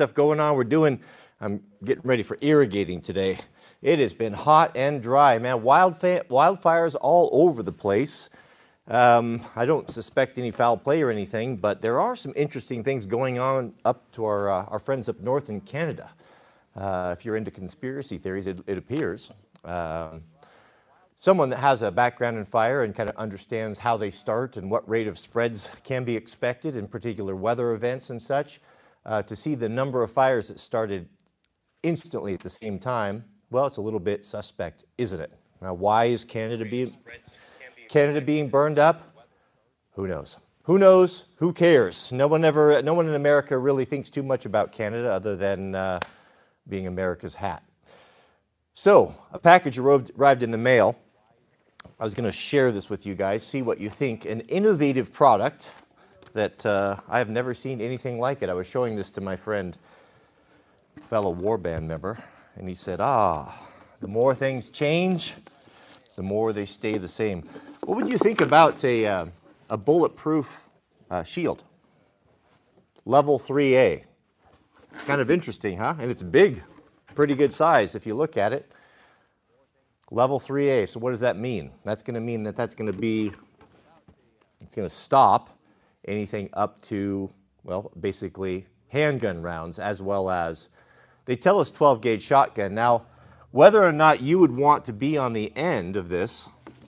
stuff going on. I'm getting ready for irrigating today. It has been hot and dry, man. Wildfires all over the place. I don't suspect any foul play or anything, but there are some interesting things going on up to our friends up north in Canada. If you're into conspiracy theories, it appears. Someone that has a background in fire and kind of understands how they start and what rate of spreads can be expected in particular weather events and such, to see the number of fires that started instantly at the same time, well, it's a little bit suspect, isn't it? Now, why is Canada being burned up? Who knows? Who knows? Who cares? No one in America really thinks too much about Canada other than being America's hat. So, a package arrived in the mail. I was going to share this with you guys, see what you think. An innovative product that I have never seen anything like it. I was showing this to my friend, fellow warband member, and he said, the more things change, the more they stay the same. What would you think about a bulletproof shield? Level 3A. Kind of interesting, huh? And it's big, pretty good size if you look at it. Level 3A, so what does that mean? That's going to mean that it's going to stop anything up to, well, basically handgun rounds, as well as, they tell us 12-gauge shotgun. Now, whether or not you would want to be on the end of this,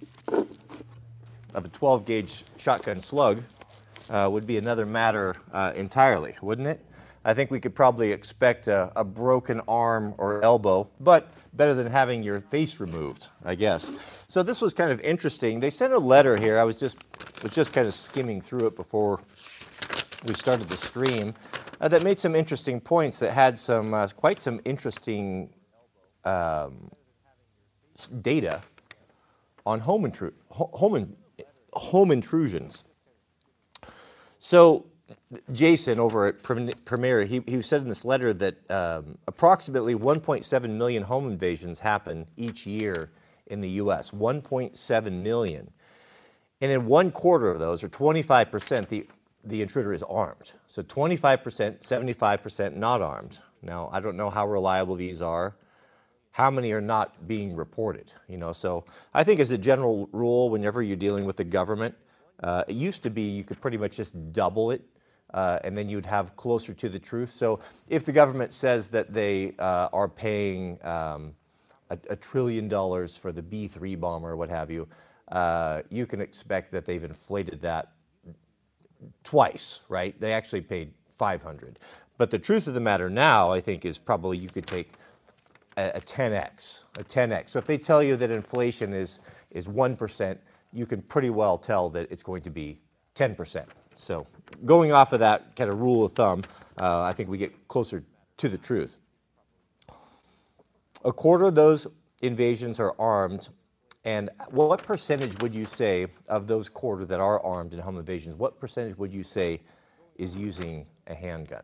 of a 12-gauge shotgun slug, would be another matter entirely, wouldn't it? I think we could probably expect a broken arm or elbow, but better than having your face removed, I guess. So this was kind of interesting. They sent a letter here. I was just kind of skimming through it before we started the stream that made some interesting points that had some quite some interesting data on home intrusions. So Jason over at Premier, he said in this letter that approximately 1.7 million home invasions happen each year in the U.S. 1.7 million. And in 1/4 of those, or 25%, the intruder is armed. So 25%, 75% not armed. Now, I don't know how reliable these are. How many are not being reported? So I think as a general rule, whenever you're dealing with the government, it used to be you could pretty much just double it, and then you'd have closer to the truth. So if the government says that they are paying $1 trillion for the B-3 bomber or what have you, you can expect that they've inflated that twice, right? They actually paid 500. But the truth of the matter now, I think, is probably you could take a 10x. So if they tell you that inflation is 1%, you can pretty well tell that it's going to be 10%. So going off of that kind of rule of thumb, I think we get closer to the truth. 1/4 of those invasions are armed. And what percentage would you say of those 1/4 that are armed in home invasions, what percentage would you say is using a handgun?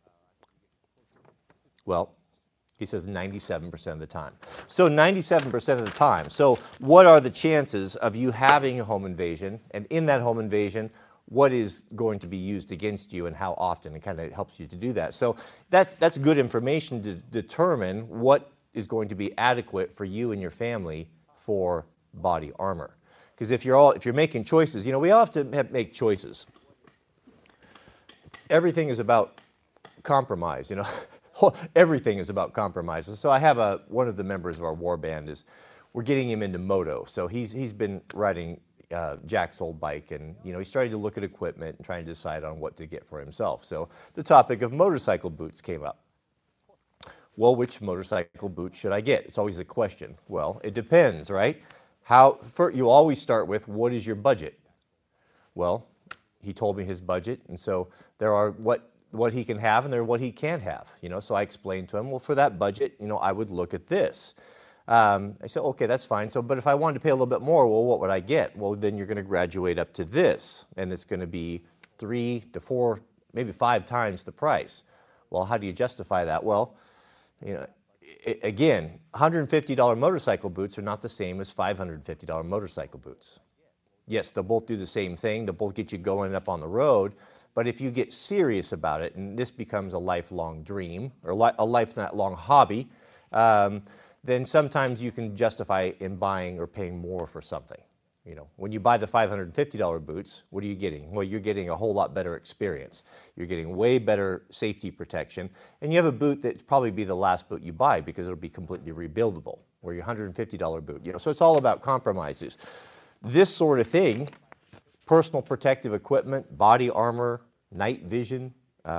Well, he says 97% of the time. So 97% of the time. So what are the chances of you having a home invasion, and in that home invasion, what is going to be used against you and how often? It kind of helps you to do that. So that's good information to determine what is going to be adequate for you and your family for body armor. Because if you're making choices, we all have to make choices. Everything is about compromise, Everything is about compromise. So I have one of the members of our war band we're getting him into moto. So he's been riding Jack's old bike, and he started to look at equipment and trying to decide on what to get for himself. So the topic of motorcycle boots came up. Well, which motorcycle boot should I get? It's always a question. Well, it depends, right? You always start with, what is your budget? Well, he told me his budget, and so there are what he can have and there are what he can't have. So I explained to him, well, for that budget, I would look at this. I said, okay, that's fine. But if I wanted to pay a little bit more, well, what would I get? Well, then you're going to graduate up to this, and it's going to be 3 to 4, maybe 5 times the price. Well, how do you justify that? Well, again, $150 motorcycle boots are not the same as $550 motorcycle boots. Yes, they'll both do the same thing. They'll both get you going up on the road. But if you get serious about it, and this becomes a lifelong dream or a lifelong hobby, then sometimes you can justify in buying or paying more for something. You know, when you buy the $550 boots, what are you getting? Well, you're getting a whole lot better experience. You're getting way better safety protection, and you have a boot that's probably be the last boot you buy because it'll be completely rebuildable, or your $150 boot. You know, so it's all about compromises. This sort of thing, personal protective equipment, body armor, night vision,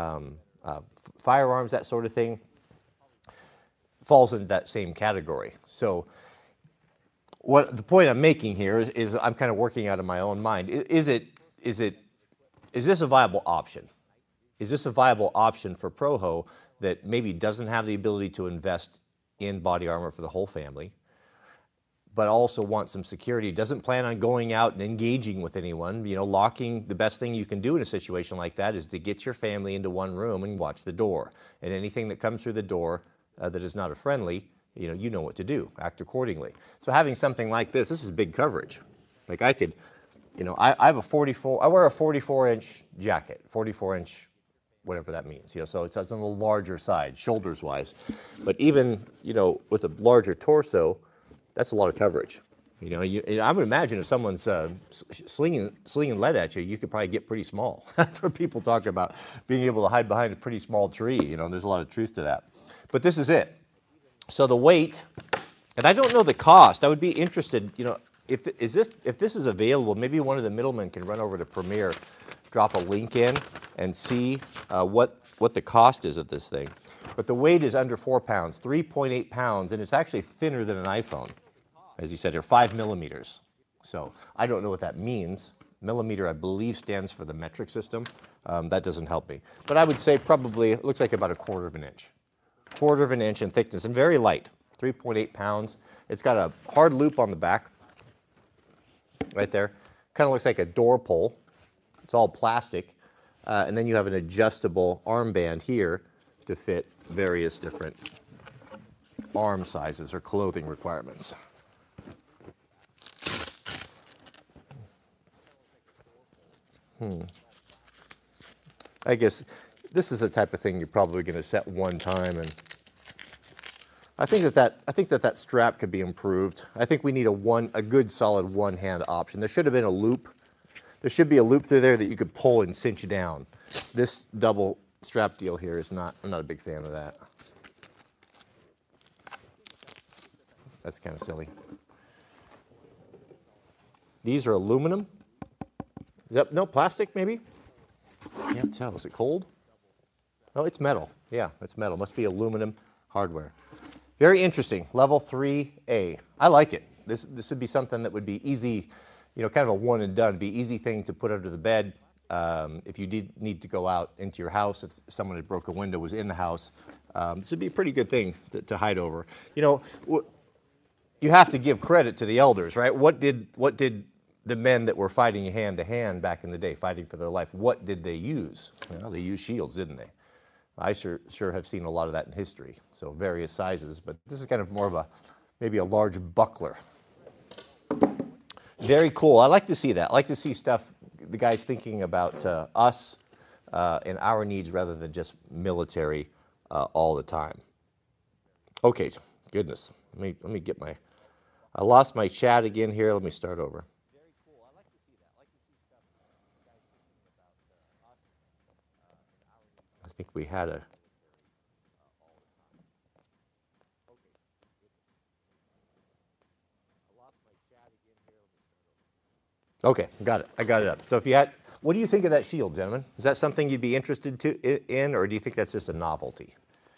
firearms, that sort of thing, falls into that same category. So what the point I'm making here is I'm kind of working out of my own mind. Is this a viable option? Is this a viable option for Proho that maybe doesn't have the ability to invest in body armor for the whole family, but also wants some security, doesn't plan on going out and engaging with anyone? You know, locking, the best thing you can do in a situation like that is to get your family into one room and watch the door. And anything that comes through the door that is not a friendly, you know what to do, act accordingly. So having something like this is big coverage. Like I could, you know, I have a 44, I wear a 44-inch jacket, 44-inch, whatever that means, you know, so it's on the larger side, shoulders-wise. But even, you know, with a larger torso, that's a lot of coverage. You know, I would imagine if someone's slinging lead at you, you could probably get pretty small. For people talk about being able to hide behind a pretty small tree, you know, there's a lot of truth to that. But this is it. So the weight, and I don't know the cost. I would be interested, you know, if this is available, maybe one of the middlemen can run over to Premier, drop a link in, and see what the cost is of this thing. But the weight is under 4 pounds, 3.8 pounds, and it's actually thinner than an iPhone. As you said, they're 5 millimeters. So I don't know what that means. Millimeter, I believe, stands for the metric system. That doesn't help me. But I would say probably, it looks like about 1/4 of an inch. 1/4 of an inch in thickness and very light, 3.8 pounds. It's got a hard loop on the back, right there. Kind of looks like a door pull. It's all plastic. And then you have an adjustable armband here to fit various different arm sizes or clothing requirements. I guess this is the type of thing you're probably going to set one time, and I think that strap could be improved. I think we need a good solid one-hand option. There should have been a loop. There should be a loop through there that you could pull and cinch down. This double strap deal here is not. I'm not a big fan of that. That's kind of silly. These are aluminum. Yep, no, plastic maybe? Can't tell. Is it cold? Oh, it's metal. Yeah, it's metal. Must be aluminum hardware. Very interesting. Level 3A. I like it. This would be something that would be easy, you know, kind of a one and done. Be easy thing to put under the bed. If you did need to go out into your house, if someone had broke a window, was in the house, this would be a pretty good thing to hide over. You know, you have to give credit to the elders, right? What did the men that were fighting hand to hand back in the day, fighting for their life, what did they use? Well, they used shields, didn't they? I sure have seen a lot of that in history, so various sizes, but this is kind of more of maybe a large buckler. Very cool. I like to see that. I like to see stuff, the guys thinking about us and our needs rather than just military all the time. Okay, goodness. Let me get I lost my chat again here. Let me start over. I think we had a... Okay, got it. I got it up. So if you had, what do you think of that shield, gentlemen? Is that something you'd be interested in, or do you think that's just a novelty?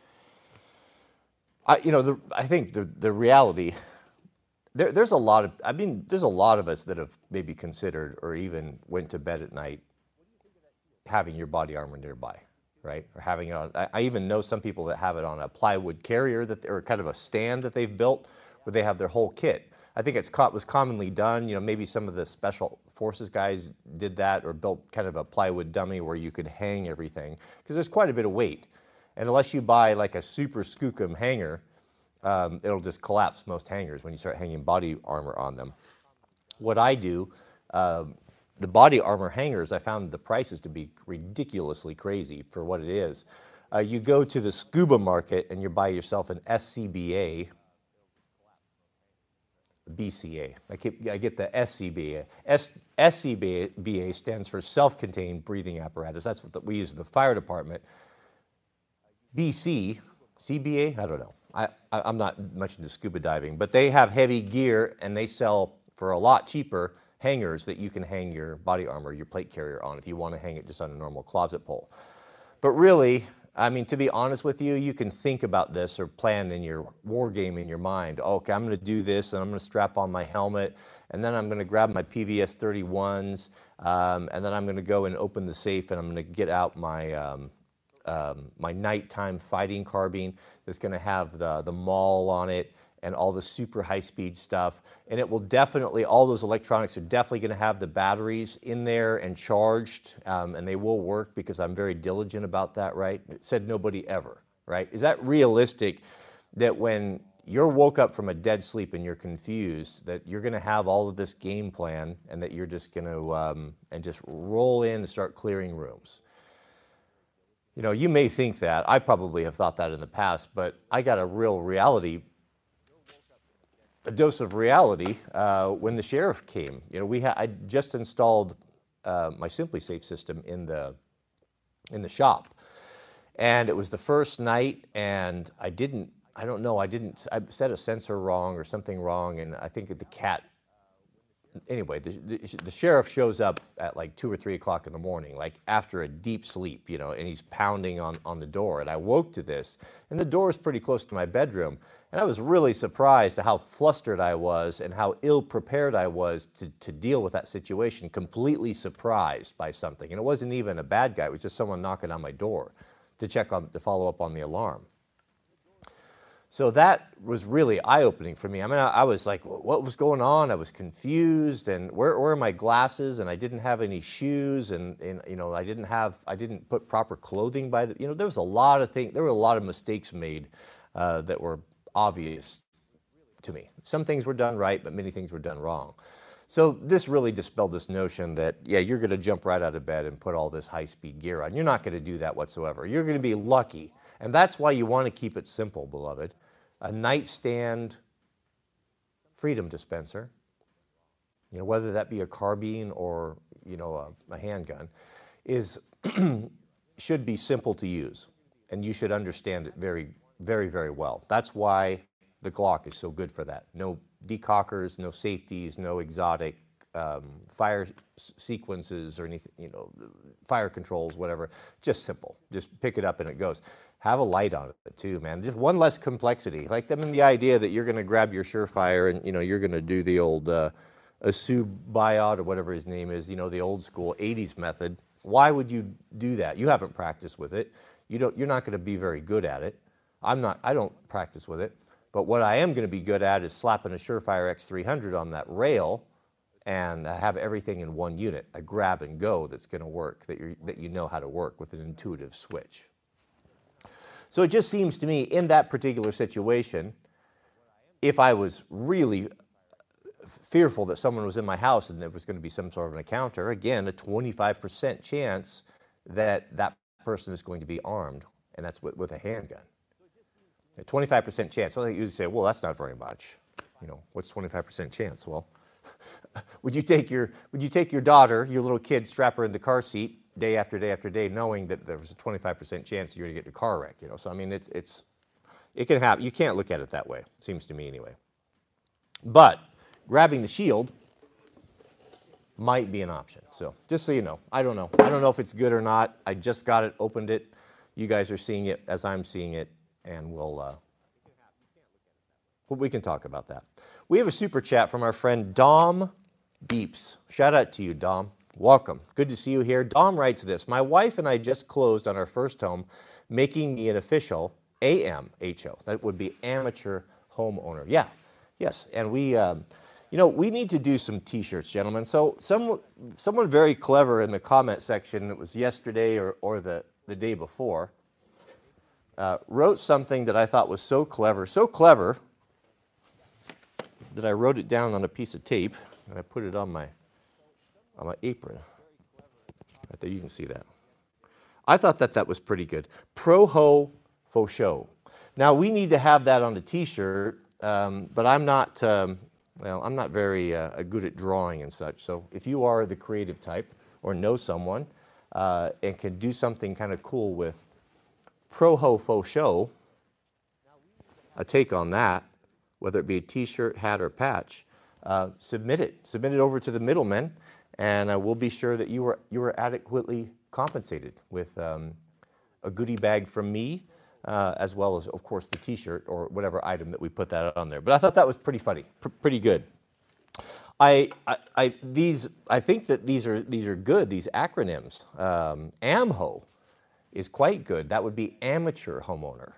I think the reality, there's a lot of us that have maybe considered or even went to bed at night having your body armor nearby, right? Or having it on. I even know some people that have it on a plywood carrier or kind of a stand that they've built where they have their whole kit. I think was commonly done. You know, maybe some of the special forces guys did that or built kind of a plywood dummy where you could hang everything, because there's quite a bit of weight. And unless you buy like a super skookum hanger, it'll just collapse most hangers when you start hanging body armor on them. What I do The body armor hangers, I found the prices to be ridiculously crazy for what it is. You go to the scuba market and you buy yourself an SCBA, BCA. I get the SCBA. SCBA stands for self-contained breathing apparatus. That's what we use in the fire department. CBA, I don't know. I'm not much into scuba diving, but they have heavy gear and they sell for a lot cheaper hangers that you can hang your body armor, your plate carrier on if you want to hang it just on a normal closet pole. But really, I mean, to be honest with you, you can think about this or plan in your war game in your mind. Oh, okay, I'm going to do this, and I'm going to strap on my helmet, and then I'm going to grab my PVS 31s, and then I'm going to go and open the safe, and I'm going to get out my my nighttime fighting carbine that's going to have the maul on it and all the super high-speed stuff. And it will definitely, all those electronics are definitely going to have the batteries in there and charged, and they will work because I'm very diligent about that, right? It said nobody ever, right? Is that realistic that when you're woke up from a dead sleep and you're confused, that you're going to have all of this game plan and that you're just going to and just roll in and start clearing rooms? You know, you may think that. I probably have thought that in the past, but I got a real reality, a dose of reality when the sheriff came. You know, I just installed my SimpliSafe system in the shop, and it was the first night, and I set a sensor wrong or something wrong, and I think the cat. Anyway, the sheriff shows up at like 2 or 3 o'clock in the morning, like after a deep sleep, you know, and he's pounding on the door. And I woke to this, and the door is pretty close to my bedroom. And I was really surprised at how flustered I was and how ill-prepared I was to deal with that situation, completely surprised by something. And it wasn't even a bad guy. It was just someone knocking on my door to follow up on the alarm. So that was really eye-opening for me. I mean, I was like, what was going on? I was confused, and where are my glasses? And I didn't have any shoes, and you know, I didn't put proper clothing by the, you know, there was a lot of things, there were a lot of mistakes made that were obvious to me. Some things were done right, but many things were done wrong. So this really dispelled this notion that, yeah, you're going to jump right out of bed and put all this high-speed gear on. You're not going to do that whatsoever. You're going to be lucky. And that's why you want to keep it simple, beloved. A nightstand freedom dispenser, you know, whether that be a carbine or, you know, a handgun, should be simple to use. And you should understand it very, very, very well. That's why the Glock is so good for that. No decockers, no safeties, no exotic fire sequences or anything, you know, fire controls, whatever. Just simple. Just pick it up and it goes. Have a light on it too, man. Just one less complexity. Like, I mean, the idea that you're going to grab your Surefire and, you know, you're going to do the old Asu Bayat or whatever his name is, you know, the old school 80s method. Why would you do that? You haven't practiced with it. You're not going to be very good at it. I don't practice with it. But what I am going to be good at is slapping a Surefire X300 on that rail and have everything in one unit, a grab and go that's going to work, that you know how to work with an intuitive switch. So it just seems to me, in that particular situation, if I was really fearful that someone was in my house and there was going to be some sort of an encounter, again, a 25% chance that that person is going to be armed, and that's with a handgun. A 25% chance. So you say, well, that's not very much. You know, what's 25% chance? Well, would you take your daughter, your little kid, strap her in the car seat day after day after day, knowing that there was a 25% chance you're going to get in a car wreck? You know, so I mean, it can happen. You can't look at it that way. It seems to me anyway. But grabbing the shield might be an option. So just so you know, I don't know if it's good or not. I just got it, opened it. You guys are seeing it as I'm seeing it, and we can talk about that. We have a super chat from our friend Dom Beeps. Shout out to you, Dom. Welcome. Good to see you here. Dom writes this: my wife and I just closed on our first home, making me an official AMHO. That would be amateur homeowner. Yeah, yes. And we, you know, we need to do some T-shirts, gentlemen. So someone very clever in the comment section, it was yesterday or the day before, wrote something that I thought was so clever that I wrote it down on a piece of tape, and I put it on my on my apron. Right there, you can see that. I thought that was pretty good. Pro-Ho Faux Show. Now, we need to have that on the t-shirt, but I'm not, well, I'm not very good at drawing and such. So if you are the creative type or know someone and can do something kind of cool with Pro-Ho Faux Show, a take on that, whether it be a t-shirt, hat, or patch, submit it. Submit it over to the middlemen, and we'll be sure that you were adequately compensated with a goodie bag from me, as well as, of course, the t-shirt or whatever item that we put that on there. But I thought that was pretty funny, pretty good. I think that these are good, these acronyms. AMHO is quite good. That would be amateur homeowner.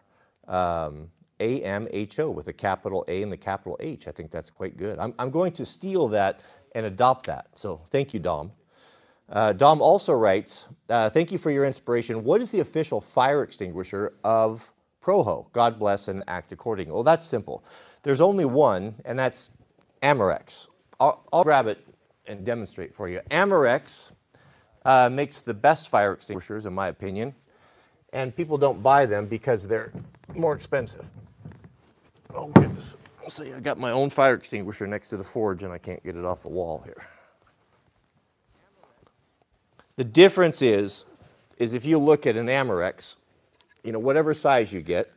AMHO with a capital A and the capital H. I think that's quite good. I'm going to steal that and adopt that. So thank you, Dom. Dom also writes, thank you for your inspiration. What is the official fire extinguisher of Pro-Ho? God bless and act accordingly. Well, that's simple. There's only one, and that's Amerex. I'll grab it and demonstrate for you. Amerex makes the best fire extinguishers, in my opinion, and people don't buy them because they're more expensive. Oh, goodness. See, I got my own fire extinguisher next to the forge, and I can't get it off the wall here. The difference is if you look at an Amerex, you know, whatever size you get,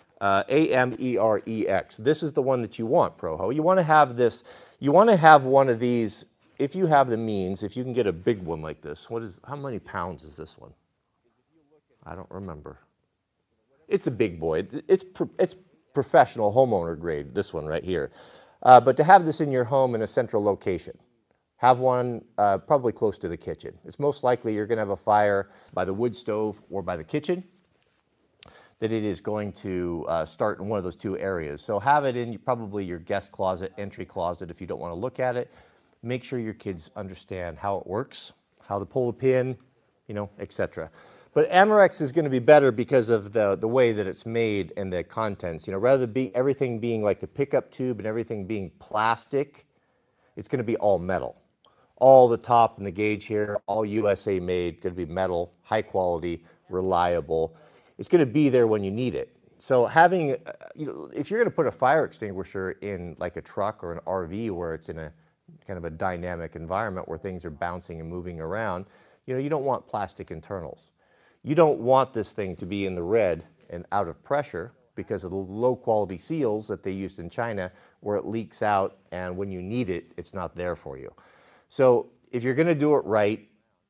AMEREX, this is the one that you want, Pro-Ho. You want to have this, you want to have one of these, if you have the means, if you can get a big one like this. How many pounds is this one? I don't remember. It's a big boy. It's professional homeowner grade, this one right here. But to have this in your home in a central location, have one probably close to the kitchen. It's most likely you're going to have a fire by the wood stove or by the kitchen, that it is going to start in one of those two areas. So have it in probably your guest closet, entry closet if you don't want to look at it. Make sure your kids understand how it works, how to pull the pin, you know, etc. But Amerex is going to be better because of the way that it's made and the contents. You know, rather than everything being like the pickup tube and everything being plastic, it's going to be all metal. All the top and the gauge here, all USA made, going to be metal, high quality, reliable. It's going to be there when you need it. So having, you know, if you're going to put a fire extinguisher in like a truck or an RV where it's in a kind of a dynamic environment where things are bouncing and moving around, you know, you don't want plastic internals. You don't want this thing to be in the red and out of pressure because of the low quality seals that they used in China where it leaks out and when you need it, it's not there for you. So if you're going to do it right,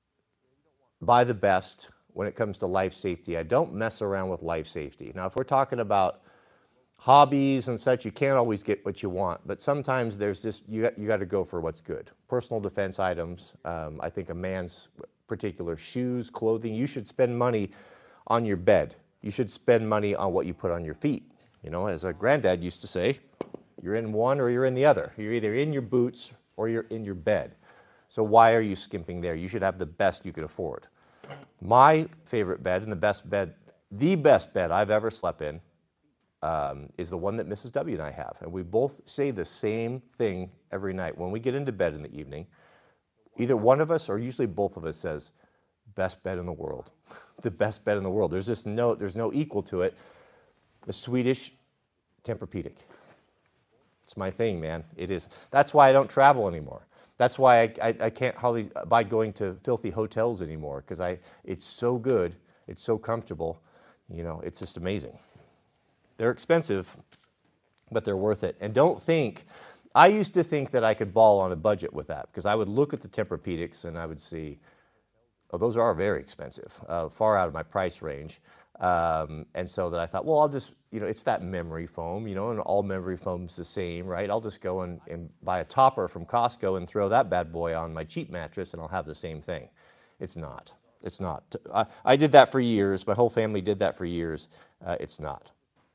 buy the best when it comes to life safety. I don't mess around with life safety. Now, if we're talking about hobbies and such, you can't always get what you want, but sometimes there's this, you got to go for what's good. Personal defense items, I think a man's particular shoes, clothing, you should spend money on your bed. You should spend money on what you put on your feet. You know, as our granddad used to say, you're in one or you're in the other. You're either in your boots or you're in your bed. So why are you skimping there? You should have the best you could afford. My favorite bed and the best bed I've ever slept in is the one that Mrs. W and I have. And we both say the same thing every night. When we get into bed in the evening, either one of us or usually both of us says, best bed in the world. The best bed in the world. There's no equal to it. The Swedish Tempur-Pedic. It's my thing, man. It is. That's why I don't travel anymore. That's why I can't hardly buy going to filthy hotels anymore, because it's so good, it's so comfortable, you know, it's just amazing. They're expensive, but they're worth it. And don't think, I used to think that I could ball on a budget with that, because I would look at the Tempur-Pedics and I would see, oh, those are very expensive, far out of my price range. And so that I thought, well, I'll just, you know, it's that memory foam, you know, and all memory foam's the same, right? I'll just go and buy a topper from Costco and throw that bad boy on my cheap mattress and I'll have the same thing. It's not. It's not. I did that for years. My whole family did that for years. It's not.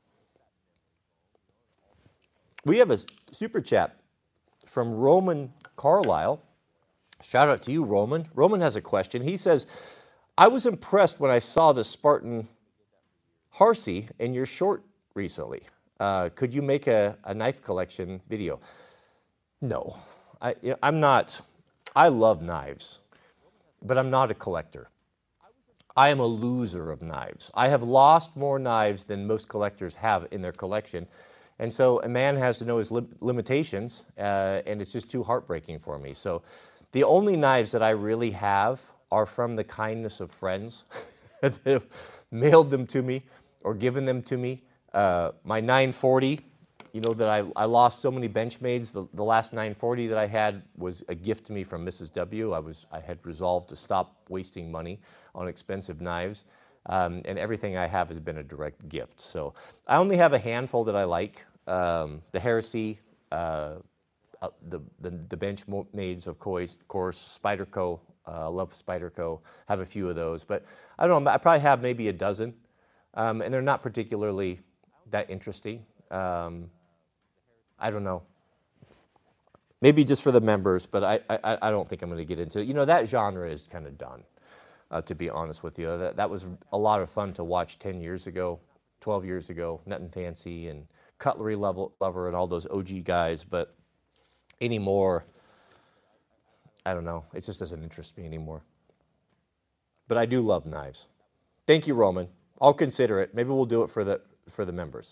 We have a super chat from Roman Carlisle. Shout out to you, Roman. Roman has a question. He says, I was impressed when I saw the Spartan Harsey in your short recently. Could you make a knife collection video? No, I'm not I love knives, but I'm not a collector. I am a loser of knives. I have lost more knives than most collectors have in their collection. And so a man has to know his limitations, and it's just too heartbreaking for me. So the only knives that I really have are from the kindness of friends that have mailed them to me or given them to me. My 940, you know, that I lost so many Benchmades. The last 940 that I had was a gift to me from Mrs. W. I had resolved to stop wasting money on expensive knives, and everything I have has been a direct gift. So I only have a handful that I like. The Heresy, the Benchmades, of course, Spyderco. I love Spyderco. Have a few of those, but I don't know. I probably have maybe a dozen, and they're not particularly that interesting. I don't know. Maybe just for the members, but I don't think I'm going to get into it. You know, that genre is kind of done, to be honest with you. That was a lot of fun to watch 10 years ago, 12 years ago, Nothing Fancy and Cutlery Lover and all those OG guys, but anymore, I don't know. It just doesn't interest me anymore. But I do love knives. Thank you, Roman. I'll consider it. Maybe we'll do it for the members.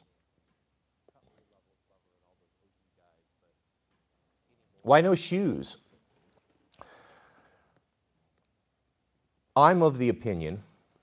Why no shoes? I'm of the opinion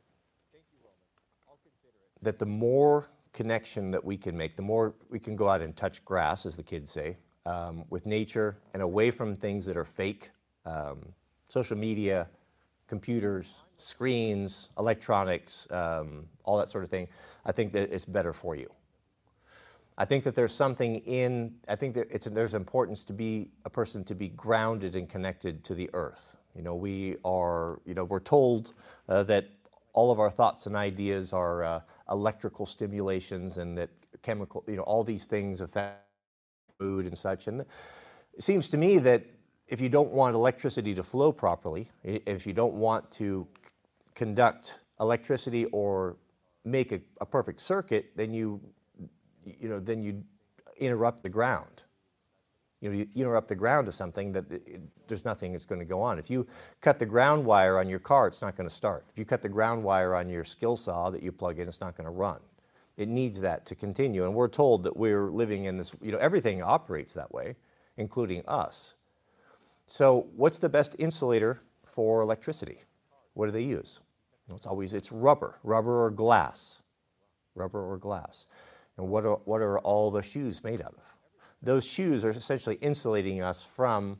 that the more connection that we can make, the more we can go out and touch grass, as the kids say, with nature and away from things that are fake, social media, computers, screens, electronics, all that sort of thing. I think that it's better for you. I think that there's something I think that there's importance to be a person to be grounded and connected to the earth. You know, we're told that all of our thoughts and ideas are electrical stimulations, and that chemical, you know, all these things affect mood and such. And it seems to me that if you don't want electricity to flow properly, if you don't want to conduct electricity or make a perfect circuit, then you interrupt the ground. You interrupt the ground to something that there's nothing that's going to go on. If you cut the ground wire on your car, it's not going to start. If you cut the ground wire on your skill saw that you plug in, it's not going to run. It needs that to continue. And we're told that we're living in this, you know, everything operates that way, including us. So what's the best insulator for electricity? What do they use? It's rubber or glass. Rubber or glass. And what are all the shoes made out of? Those shoes are essentially insulating us from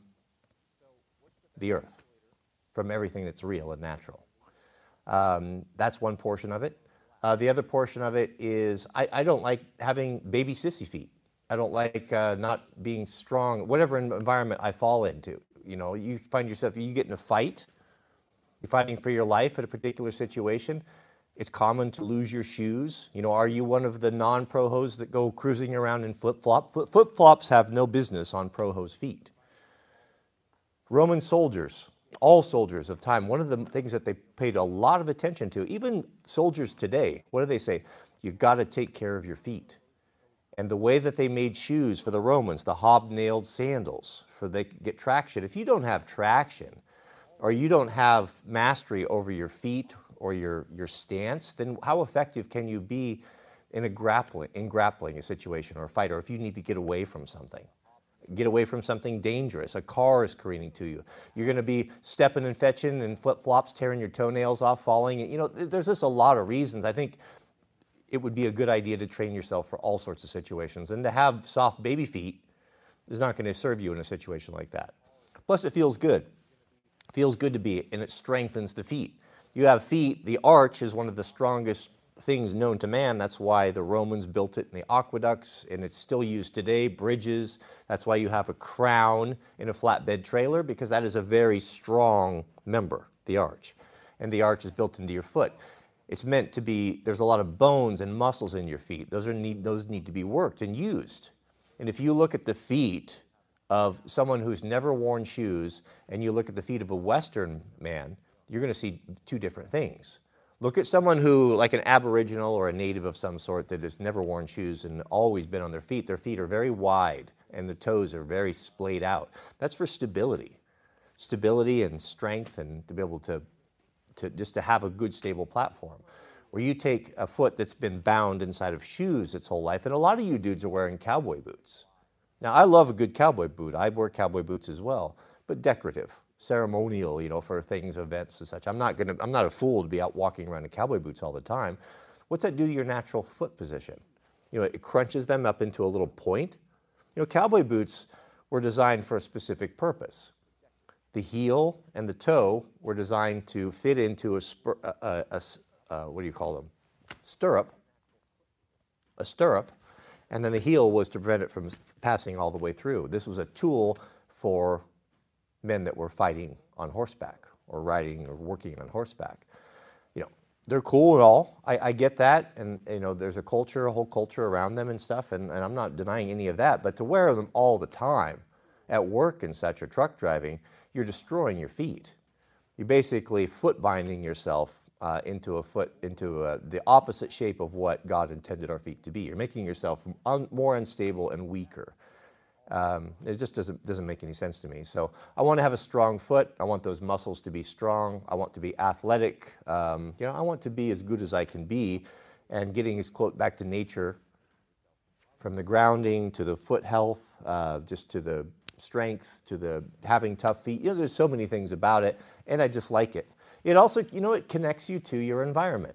the earth, from everything that's real and natural. That's one portion of it. The other portion of it is I don't like having baby sissy feet. I don't like not being strong, whatever environment I fall into. You know, you find yourself, you get in a fight, you're fighting for your life at a particular situation. It's common to lose your shoes. You know, are you one of the non-pro hose that go cruising around in flip-flop? Flip-flops have no business on pro hose feet. Roman soldiers, all soldiers of time, one of the things that they paid a lot of attention to, even soldiers today, what do they say? You've got to take care of your feet. And the way that they made shoes for the Romans, the hobnailed sandals, they could get traction. If you don't have traction, or you don't have mastery over your feet or your stance, then how effective can you be in grappling a situation or a fight, or if you need to get away from something dangerous? A car is careening to you. You're going to be stepping and fetching and flip-flops, tearing your toenails off, falling. You know, there's just a lot of reasons. I think it would be a good idea to train yourself for all sorts of situations. And to have soft baby feet is not going to serve you in a situation like that. Plus, it feels good. It feels good to be, and it strengthens the feet. You have feet, the arch is one of the strongest things known to man. That's why the Romans built it in the aqueducts, and it's still used today, bridges. That's why you have a crown in a flatbed trailer, because that is a very strong member, the arch. And the arch is built into your foot. It's meant to be, there's a lot of bones and muscles in your feet. Those need to be worked and used. And if you look at the feet of someone who's never worn shoes, and you look at the feet of a Western man, you're going to see two different things. Look at someone who, like an Aboriginal or a native of some sort that has never worn shoes and always been on their feet. Their feet are very wide and the toes are very splayed out. That's for stability. stability and strength and to be able to just to have a good stable platform. Where you take a foot that's been bound inside of shoes its whole life, and a lot of you dudes are wearing cowboy boots. Now, I love a good cowboy boot. I wear cowboy boots as well, but decorative, ceremonial, you know, for things, events and such. I'm not a fool to be out walking around in cowboy boots all the time. What's that do to your natural foot position? You know, it crunches them up into a little point. You know, cowboy boots were designed for a specific purpose. The heel and the toe were designed to fit into what do you call them? Stirrup. A stirrup. And then the heel was to prevent it from passing all the way through. This was a tool for men that were fighting on horseback or riding or working on horseback. You know, they're cool and all. I get that. And, you know, there's a culture, a whole culture around them and stuff. And I'm not denying any of that. But to wear them all the time at work and such or truck driving, you're destroying your feet. You're basically foot binding yourself into the opposite shape of what God intended our feet to be. You're making yourself more unstable and weaker. It just doesn't make any sense to me. So I want to have a strong foot. I want those muscles to be strong. I want to be athletic. You know, I want to be as good as I can be, and getting as close back to nature, from the grounding to the foot health, just to the strength, to the having tough feet. You know, there's so many things about it, and I just like it. It also, you know, it connects you to your environment.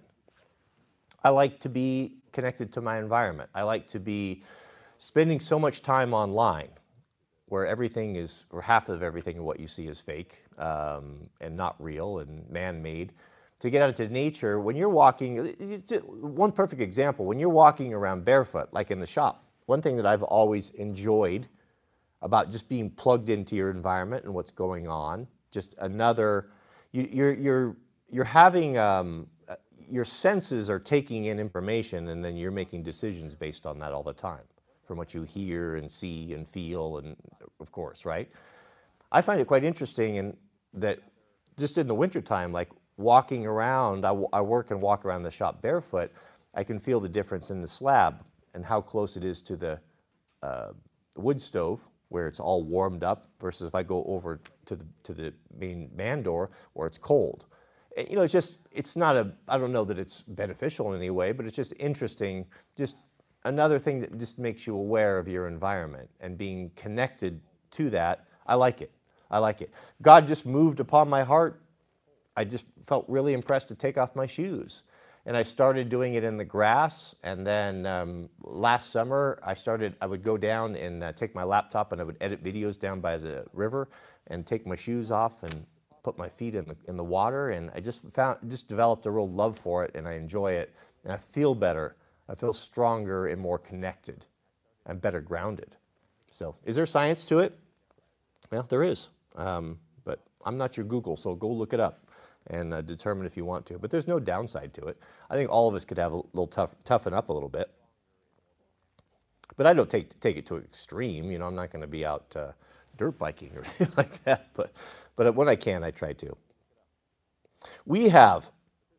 I like to be connected to my environment. I like to be spending so much time online where everything is, or half of everything of what you see is fake and not real and man-made. To get out into nature, when you're walking, one perfect example, when you're walking around barefoot, like in the shop, one thing that I've always enjoyed about just being plugged into your environment and what's going on, just another, you're having, your senses are taking in information, and then you're making decisions based on that all the time, from what you hear and see and feel, and of course, right? I find it quite interesting in that just in the wintertime, like walking around, I work and walk around the shop barefoot, I can feel the difference in the slab and how close it is to the wood stove, where it's all warmed up, versus if I go over to the main man door where it's cold. You know, it's not I don't know that it's beneficial in any way, but it's just interesting, just another thing that just makes you aware of your environment and being connected to that. I like it. I like it. God just moved upon my heart. I just felt really impressed to take off my shoes. And I started doing it in the grass, and then last summer I would go down and take my laptop and I would edit videos down by the river and take my shoes off and put my feet in the water, and I just developed a real love for it, and I enjoy it, and I feel better. I feel stronger and more connected and better grounded. So is there science to it? Well, there is, but I'm not your Google, so go look it up and determine if you want to. But there's no downside to it. I think all of us could have a little toughen up a little bit. But I don't take it to an extreme. You know, I'm not going to be out dirt biking or anything like that. But when I can, I try to. We have,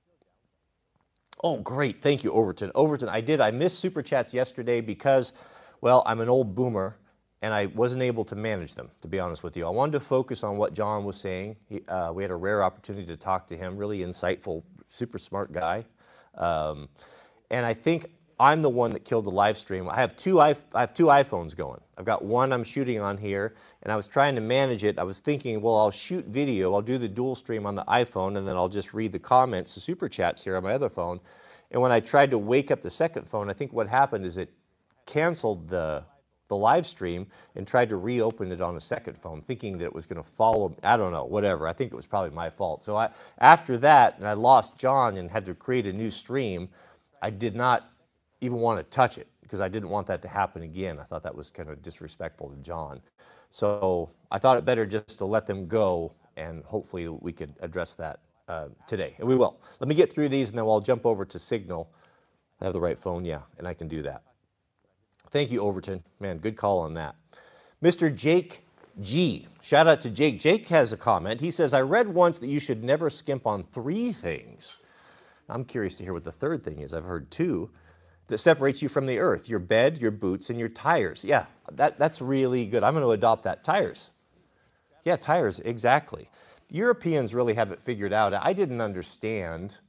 oh, great. Thank you, Overton. Overton, I missed Super Chats yesterday because, well, I'm an old boomer, and I wasn't able to manage them, to be honest with you. I wanted to focus on what John was saying. We had a rare opportunity to talk to him, really insightful, super smart guy. And I think I'm the one that killed the live stream. I have two iPhones going. I've got one I'm shooting on here, and I was trying to manage it. I was thinking, well, I'll shoot video. I'll do the dual stream on the iPhone, and then I'll just read the comments, the Super Chats here on my other phone. And when I tried to wake up the second phone, I think what happened is it canceled the live stream and tried to reopen it on a second phone, thinking that it was going to follow, I don't know, whatever. I think it was probably my fault. So after that, and I lost John and had to create a new stream, I did not even want to touch it because I didn't want that to happen again. I thought that was kind of disrespectful to John. So I thought it better just to let them go, and hopefully we could address that today. And we will. Let me get through these, and then I'll jump over to Signal. I have the right phone, yeah, and I can do that. Thank you, Overton. Man, good call on that. Mr. Jake G. Shout out to Jake. Jake has a comment. He says, I read once that you should never skimp on 3 things. I'm curious to hear what the third thing is. I've heard 2 that separates you from the earth: your bed, your boots, and your tires. Yeah, that's really good. I'm going to adopt that. Tires. Yeah, tires, exactly. Europeans really have it figured out. I didn't understand.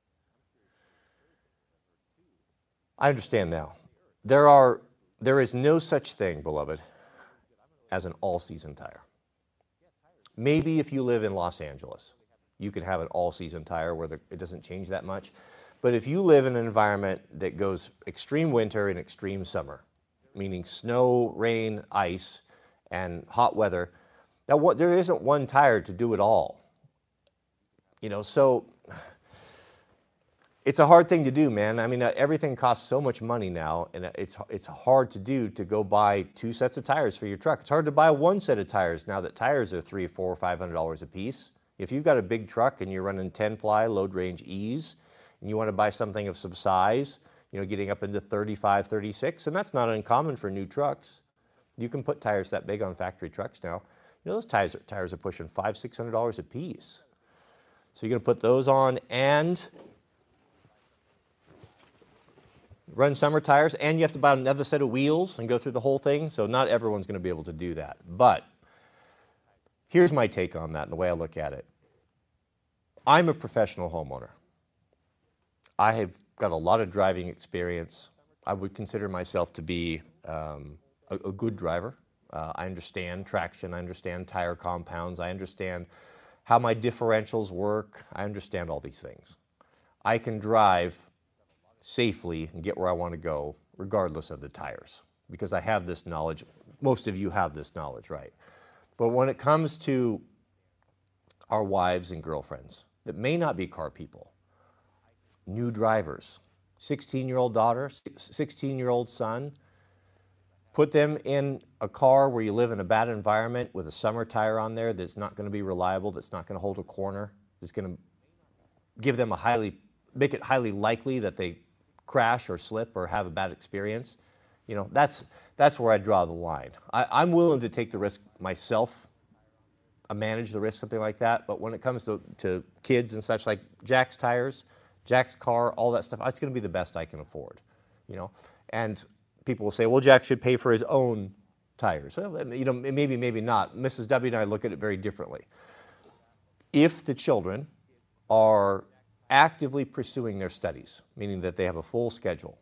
I understand now. There is no such thing, beloved, as an all-season tire. Maybe if you live in Los Angeles, you could have an all-season tire where it doesn't change that much. But if you live in an environment that goes extreme winter and extreme summer, meaning snow, rain, ice, and hot weather, there isn't one tire to do it all. So it's a hard thing to do, man. I mean, everything costs so much money now, and it's hard to do to go buy 2 sets of tires for your truck. It's hard to buy 1 set of tires now that tires are $300, $400, $500 a piece. If you've got a big truck and you're running 10-ply load range E's, and you want to buy something of some size, getting up into 35, 36, and that's not uncommon for new trucks. You can put tires that big on factory trucks now. Those tires are pushing $500, $600 a piece. So you're going to put those on and run summer tires, and you have to buy another set of wheels and go through the whole thing. So not everyone's going to be able to do that. But here's my take on that and the way I look at it. I'm a professional homeowner. I have got a lot of driving experience. I would consider myself to be a good driver. I understand traction. I understand tire compounds. I understand how my differentials work. I understand all these things. I can drive safely and get where I want to go regardless of the tires because I have this knowledge. Most of you have this knowledge, right? But when it comes to our wives and girlfriends that may not be car people, new drivers, 16-year-old daughter, 16-year-old son, put them in a car where you live in a bad environment with a summer tire on there that's not going to be reliable, that's not going to hold a corner, that's going to give them make it highly likely that they crash or slip or have a bad experience. That's where I draw the line. I'm willing to take the risk myself, manage the risk, something like that. But when it comes to kids and such, like Jack's tires, Jack's car, all that stuff, it's going to be the best I can afford, And people will say, well, Jack should pay for his own tires. Well, maybe, maybe not. Mrs. W and I look at it very differently. If the children are actively pursuing their studies, meaning that they have a full schedule,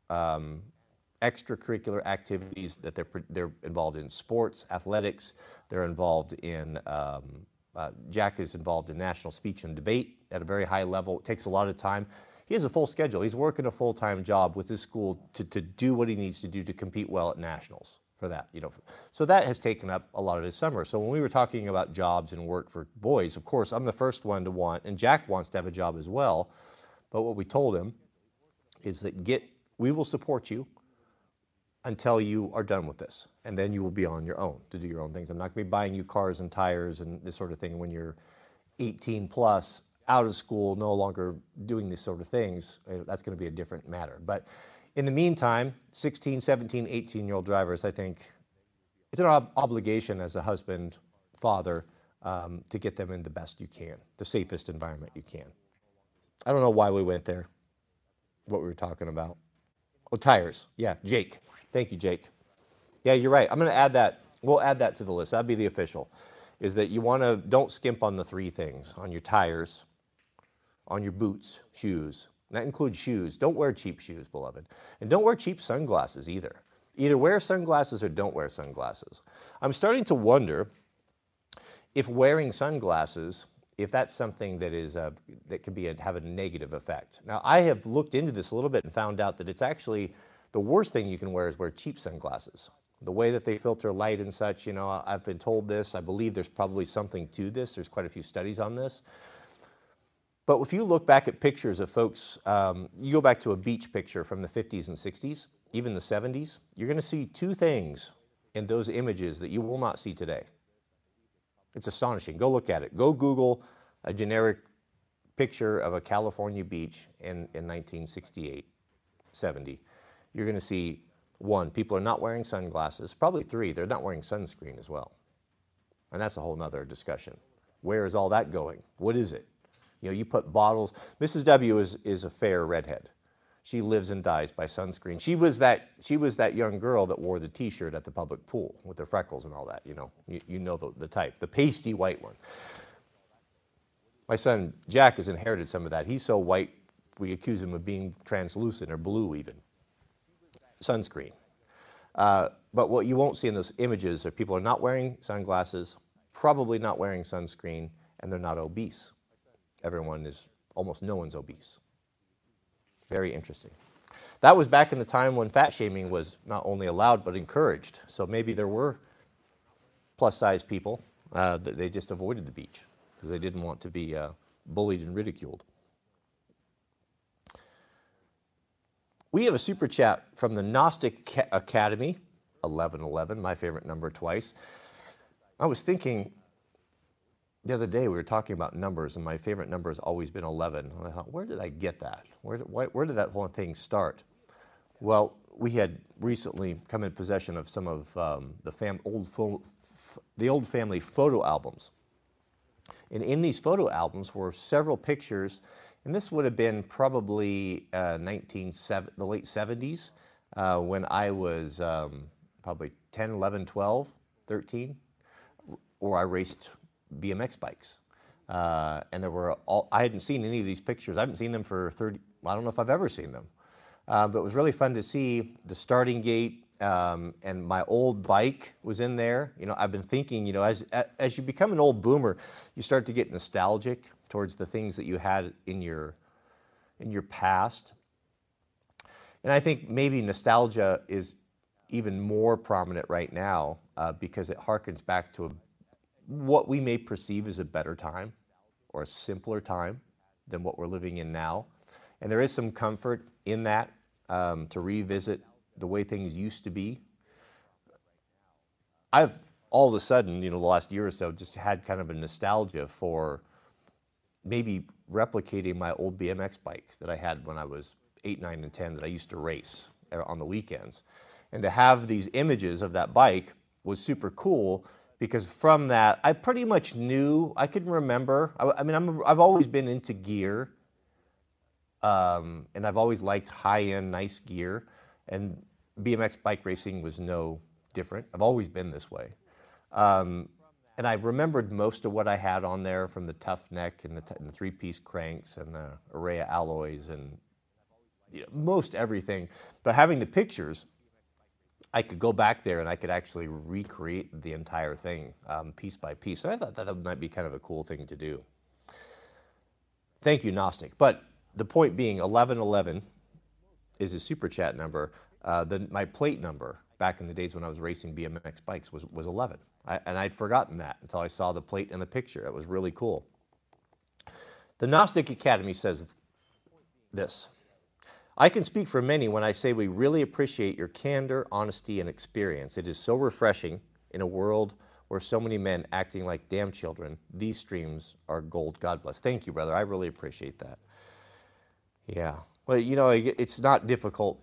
extracurricular activities, that they're involved in sports, athletics, they're involved in, Jack is involved in national speech and debate at a very high level. It takes a lot of time. He has a full schedule. He's working a full-time job with his school to do what he needs to do to compete well at nationals for that. So that has taken up a lot of his summer. So when we were talking about jobs and work for boys, of course, I'm the first one to want, and Jack wants to have a job as well. But what we told him is that we will support you until you are done with this, and then you will be on your own to do your own things. I'm not going to be buying you cars and tires and this sort of thing when you're 18 plus, out of school, no longer doing these sort of things. That's going to be a different matter. But in the meantime, 16, 17, 18-year-old drivers, I think it's an obligation as a husband, father, to get them in the best you can, the safest environment you can. I don't know why we went there, what we were talking about. Oh, tires. Yeah, Jake. Thank you, Jake. Yeah, you're right. I'm going to add that. We'll add that to the list. That'd be the official, is that don't skimp on the 3 things, on your tires, on your boots, shoes. And that includes shoes. Don't wear cheap shoes, beloved. And don't wear cheap sunglasses either. Either wear sunglasses or don't wear sunglasses. I'm starting to wonder if wearing sunglasses, if that's something that that could have a negative effect. Now, I have looked into this a little bit and found out that it's actually the worst thing you can wear is wear cheap sunglasses. The way that they filter light and such, I've been told this. I believe there's probably something to this. There's quite a few studies on this. But if you look back at pictures of folks, you go back to a beach picture from the 50s and 60s, even the 70s, you're going to see 2 things in those images that you will not see today. It's astonishing. Go look at it. Go Google a generic picture of a California beach in 1968, 70. You're going to see, 1, people are not wearing sunglasses. Probably 3, they're not wearing sunscreen as well. And that's a whole nother discussion. Where is all that going? What is it? You put bottles. Mrs. W is a fair redhead. She lives and dies by sunscreen. She was that young girl that wore the T-shirt at the public pool with the freckles and all that. You know the type, the pasty white one. My son Jack has inherited some of that. He's so white, we accuse him of being translucent or blue even. Sunscreen. But what you won't see in those images are people are not wearing sunglasses, probably not wearing sunscreen, and they're not obese. Almost no one's obese. Very interesting. That was back in the time when fat shaming was not only allowed but encouraged. So maybe there were plus-size people that they just avoided the beach because they didn't want to be bullied and ridiculed. We have a super chat from the Gnostic Academy, 1111, my favorite number twice. I was thinking the other day we were talking about numbers, and my favorite number has always been 11. And I thought, where did I get that? Where did that whole thing start? Well, we had recently come in possession of some of the old family photo albums. And in these photo albums were several pictures, and this would have been probably the late 70s when I was probably 10, 11, 12, 13, or I raced BMX bikes. And I hadn't seen any of these pictures. I haven't seen them for I don't know if I've ever seen them. But it was really fun to see the starting gate, and my old bike was in there. I've been thinking, as you become an old boomer, you start to get nostalgic towards the things that you had in your past. And I think maybe nostalgia is even more prominent right now because it harkens back to what we may perceive as a better time or a simpler time than what we're living in now. And there is some comfort in that to revisit the way things used to be. I've all of a sudden, the last year or so, just had kind of a nostalgia for maybe replicating my old BMX bike that I had when I was 8, 9, and 10 that I used to race on the weekends. And to have these images of that bike was super cool because from that, I pretty much knew, I could remember, I've always been into gear, and I've always liked high-end, nice gear, and BMX bike racing was no different. I've always been this way. And I remembered most of what I had on there, from the tough neck and the three-piece cranks and the array of alloys and most everything. But having the pictures, I could go back there and I could actually recreate the entire thing piece by piece. So I thought that might be kind of a cool thing to do. Thank you, Gnostic. But the point being, 1111 is a super chat number. My plate number back in the days when I was racing BMX bikes was 11. And I'd forgotten that until I saw the plate and the picture. It was really cool. The Gnostic Academy says this: I can speak for many when I say we really appreciate your candor, honesty, and experience. It is so refreshing in a world where so many men acting like damn children. These streams are gold. God bless. Thank you, brother. I really appreciate that. Yeah. Well, it's not difficult.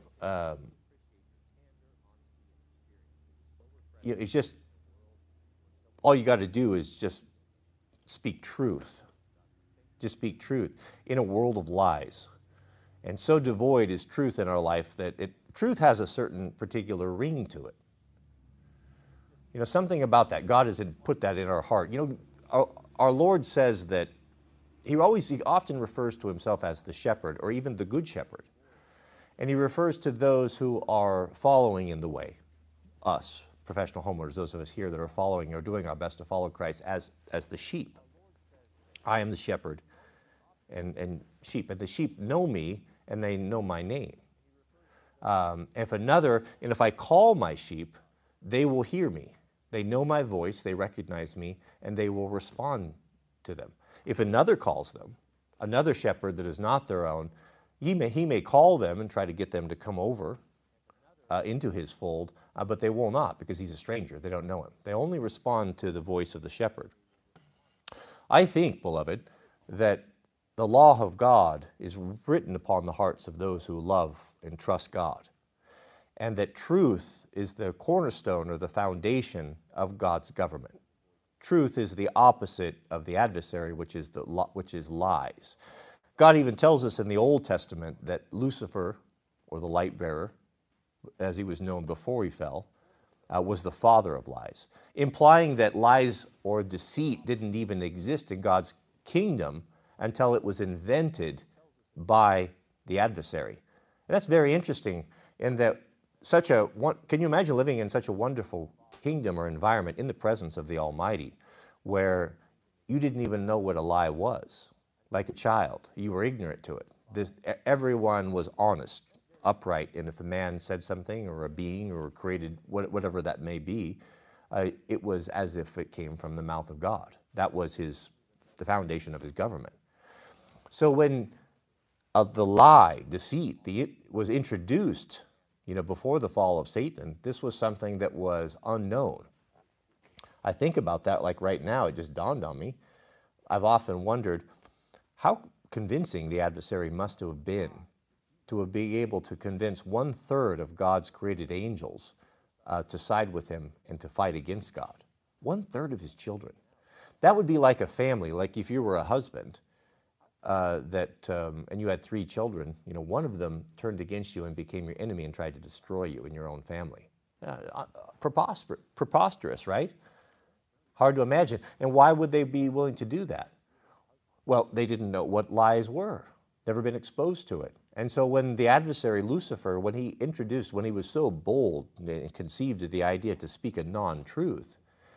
It's just, all you got to do is just speak truth. Just speak truth in a world of lies. And so devoid is truth in our life that truth has a certain particular ring to it. Something about that. God has put that in our heart. Our Lord says that he often refers to himself as the shepherd, or even the good shepherd. And he refers to those who are following in the way, us, professional homeowners, those of us here that are following or doing our best to follow Christ as the sheep. I am the shepherd and sheep, and the sheep know me and they know my name. If I call my sheep, they will hear me. They know my voice, they recognize me, and they will respond to them. If another calls them, another shepherd that is not their own, he may call them and try to get them to come over into his fold, but they will not, because he's a stranger. They don't know him. They only respond to the voice of the shepherd. I think, beloved, that the law of God is written upon the hearts of those who love and trust God, and that truth is the cornerstone or the foundation of God's government. Truth is the opposite of the adversary, which is lies. God even tells us in the Old Testament that Lucifer, or the light bearer, as he was known before he fell, was the father of lies, implying that lies or deceit didn't even exist in God's kingdom until it was invented by the adversary. And that's very interesting in that can you imagine living in such a wonderful kingdom or environment in the presence of the Almighty where you didn't even know what a lie was? Like a child, you were ignorant to it. Everyone was honest, upright, and if a man said something or a being or created whatever that may be, it was as if it came from the mouth of God. That was the foundation of his government. So when the lie, deceit, was introduced, before the fall of Satan, this was something that was unknown. I think about that like right now, it just dawned on me. I've often wondered how convincing the adversary must have been to be able to convince 1/3 of God's created angels to side with him and to fight against God. 1/3 of his children. That would be like a family, like if you were a husband and you had 3 children, one of them turned against you and became your enemy and tried to destroy you and your own family. Preposterous, right? Hard to imagine. And why would they be willing to do that? Well, they didn't know what lies were, never been exposed to it. And so when the adversary, Lucifer, when he was so bold and conceived of the idea to speak a non-truth,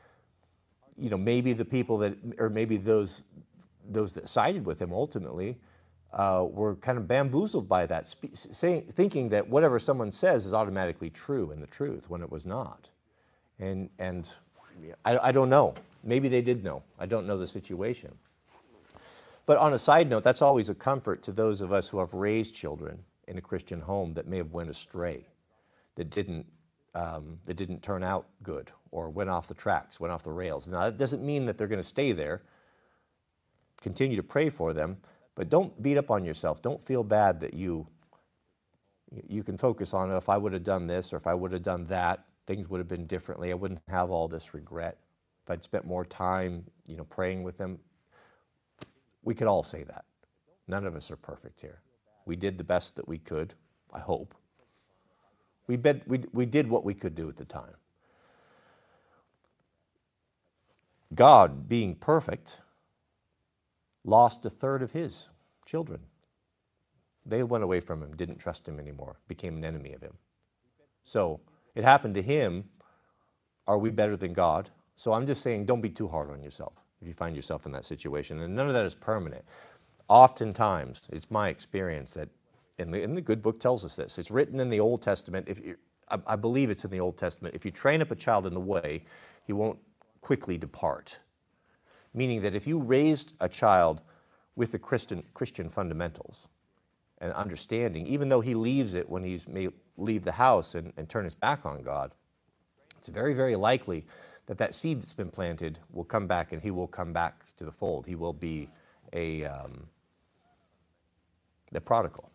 maybe the people maybe those that sided with him ultimately were kind of bamboozled by that, thinking that whatever someone says is automatically true and the truth when it was not. And I don't know. Maybe they did know. I don't know the situation. But on a side note, that's always a comfort to those of us who have raised children in a Christian home that may have went astray, that didn't turn out good or went off the tracks, went off the rails. Now, that doesn't mean that they're going to stay there. Continue to pray for them, but don't beat up on yourself. Don't feel bad that you can focus on, if I would have done this or if I would have done that, things would have been differently. I wouldn't have all this regret. If I'd spent more time, praying with them. We could all say that. None of us are perfect here. We did the best that we could, I hope. We did what we could do at the time. God, being perfect, lost 1/3 of his children. They went away from him, didn't trust him anymore, became an enemy of him. So it happened to him. Are we better than God? So I'm just saying, don't be too hard on yourself if you find yourself in that situation. And none of that is permanent. Oftentimes, it's my experience that, and the good book tells us this, it's written in the Old Testament. I believe it's in the Old Testament. If you train up a child in the way, he won't quickly depart. Meaning that if you raised a child with the Christian fundamentals and understanding, even though he leaves it when he may leave the house and turn his back on God, it's very, very likely that seed that's been planted will come back and he will come back to the fold. He will be the prodigal.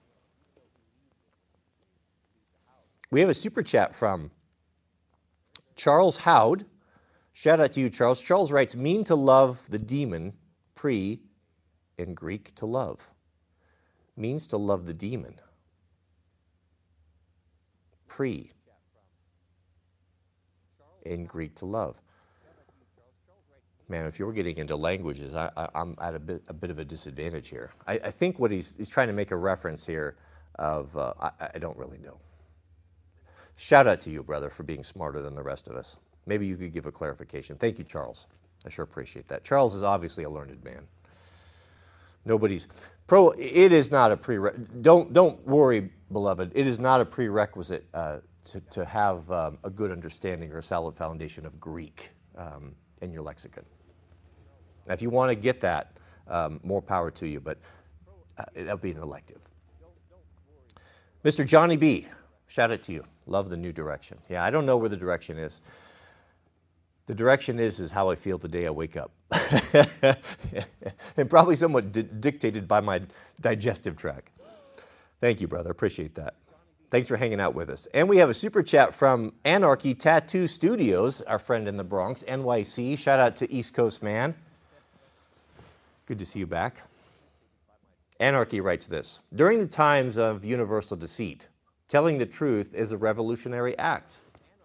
We have a super chat from Charles Howd. Shout out to you, Charles. Charles writes, mean to love the demon, in Greek, to love. Means to love the demon. In Greek, to love. Man, if you're getting into languages, I'm at a bit of a disadvantage here. I think what he's trying to make a reference here of, I don't really know. Shout out to you, brother, for being smarter than the rest of us. Maybe you could give a clarification. Thank you, Charles. I sure appreciate that. Charles is obviously a learned man. It is not a prerequisite. Don't worry, beloved. It is not a prerequisite to have a good understanding or a solid foundation of Greek in your lexicon. Now, if you want to get that, more power to you, but that'll be an elective. Mr. Johnny B., shout out to you. Love the new direction. Yeah, I don't know where the direction is. The direction is how I feel the day I wake up. And probably somewhat dictated by my digestive tract. Thank you, brother. Appreciate that. Thanks for hanging out with us. And we have a super chat from Anarchy Tattoo Studios, our friend in the Bronx, NYC. Shout out to East Coast man. Good to see you back. Anarchy writes this. During the times of universal deceit, Telling the truth is a revolutionary act.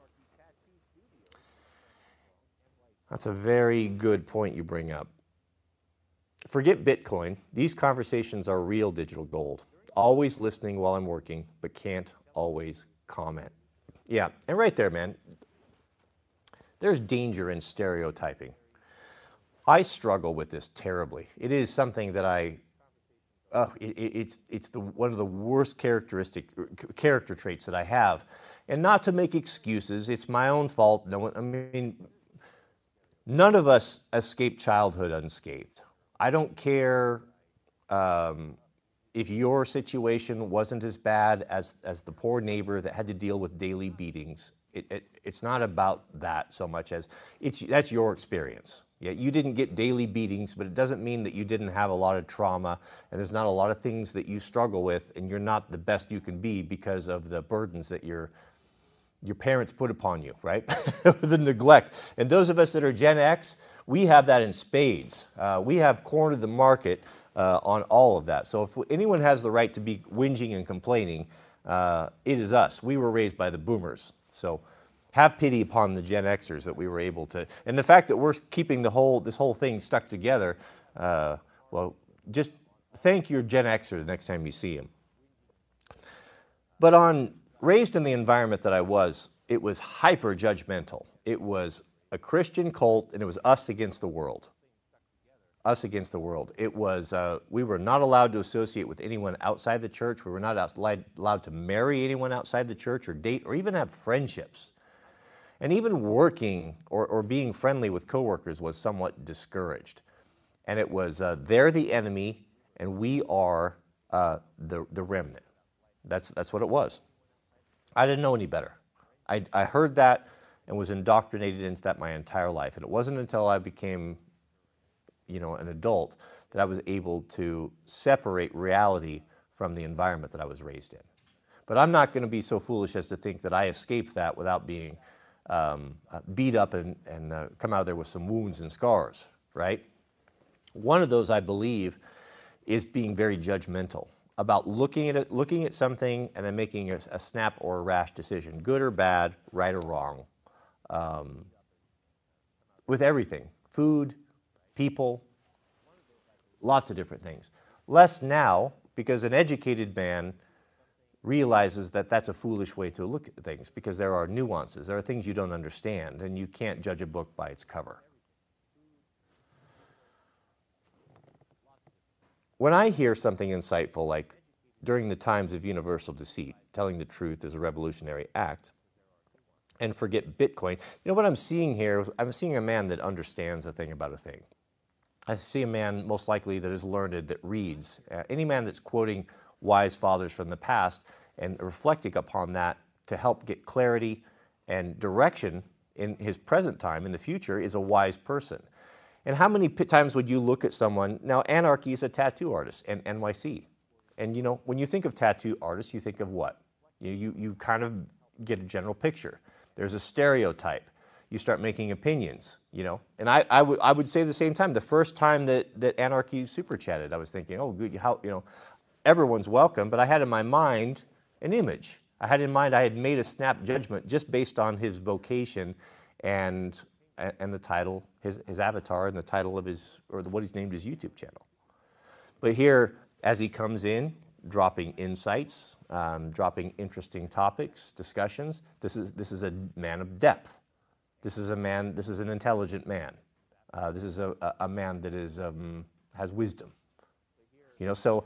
That's a very good point you bring up. Forget Bitcoin. These conversations are real digital gold. Always listening while I'm working, but can't always comment. Yeah, and right there, man, there's danger in stereotyping. I struggle with this terribly. It is something that it's one of the worst character traits that I have. And not to make excuses, it's my own fault. None of us escape childhood unscathed. I don't care if your situation wasn't as bad as the poor neighbor that had to deal with daily beatings. It's not about that so much as that's your experience. Yeah, you didn't get daily beatings, but it doesn't mean that you didn't have a lot of trauma, and there's not a lot of things that you struggle with, and you're not the best you can be because of the burdens that your parents put upon you, right? The neglect. And those of us that are Gen X, we have that in spades. We have cornered the market on all of that. So if anyone has the right to be whinging and complaining, it is us. We were raised by the boomers. So have pity upon the Gen Xers that we were able to. And the fact that we're keeping this whole thing stuck together, well, just thank your Gen Xer the next time you see him. But raised in the environment that I was, it was hyper judgmental. It was a Christian cult, and it was us against the world. Us against the world. It was, we were not allowed to associate with anyone outside the church. We were not allowed to marry anyone outside the church or date or even have friendships. And even working or being friendly with coworkers was somewhat discouraged. And it was, they're the enemy, and we are the remnant. That's what it was. I didn't know any better. I heard that and was indoctrinated into that my entire life. And it wasn't until I became, an adult that I was able to separate reality from the environment that I was raised in. But I'm not going to be so foolish as to think that I escaped that without being beat up and come out of there with some wounds and scars, right? One of those, I believe, is being very judgmental about looking at something and then making a snap or a rash decision, good or bad, right or wrong, with everything, food, people, lots of different things. Less now, because an educated man realizes that that's a foolish way to look at things, because there are nuances, there are things you don't understand, and you can't judge a book by its cover. When I hear something insightful like, during the times of universal deceit, telling the truth is a revolutionary act, and forget Bitcoin, what I'm seeing here, I'm seeing a man that understands a thing about a thing. I see a man most likely that is learned, that reads. Any man that's quoting wise fathers from the past and reflecting upon that to help get clarity and direction in his present time, in the future, is a wise person. And how many times would you look at someone, now Anarchy is a tattoo artist, and NYC. And when you think of tattoo artists, you think of what? You kind of get a general picture. There's a stereotype. You start making opinions, And I would say the same time, the first time that Anarchy super chatted, I was thinking, oh, good, everyone's welcome, but I had in my mind an image. I had in mind I had made a snap judgment just based on his vocation and the title, his avatar, and the title of what he's named his YouTube channel. But here, as he comes in, dropping insights, dropping interesting topics, discussions, this is a man of depth. This is an intelligent man. This is a man that has wisdom. So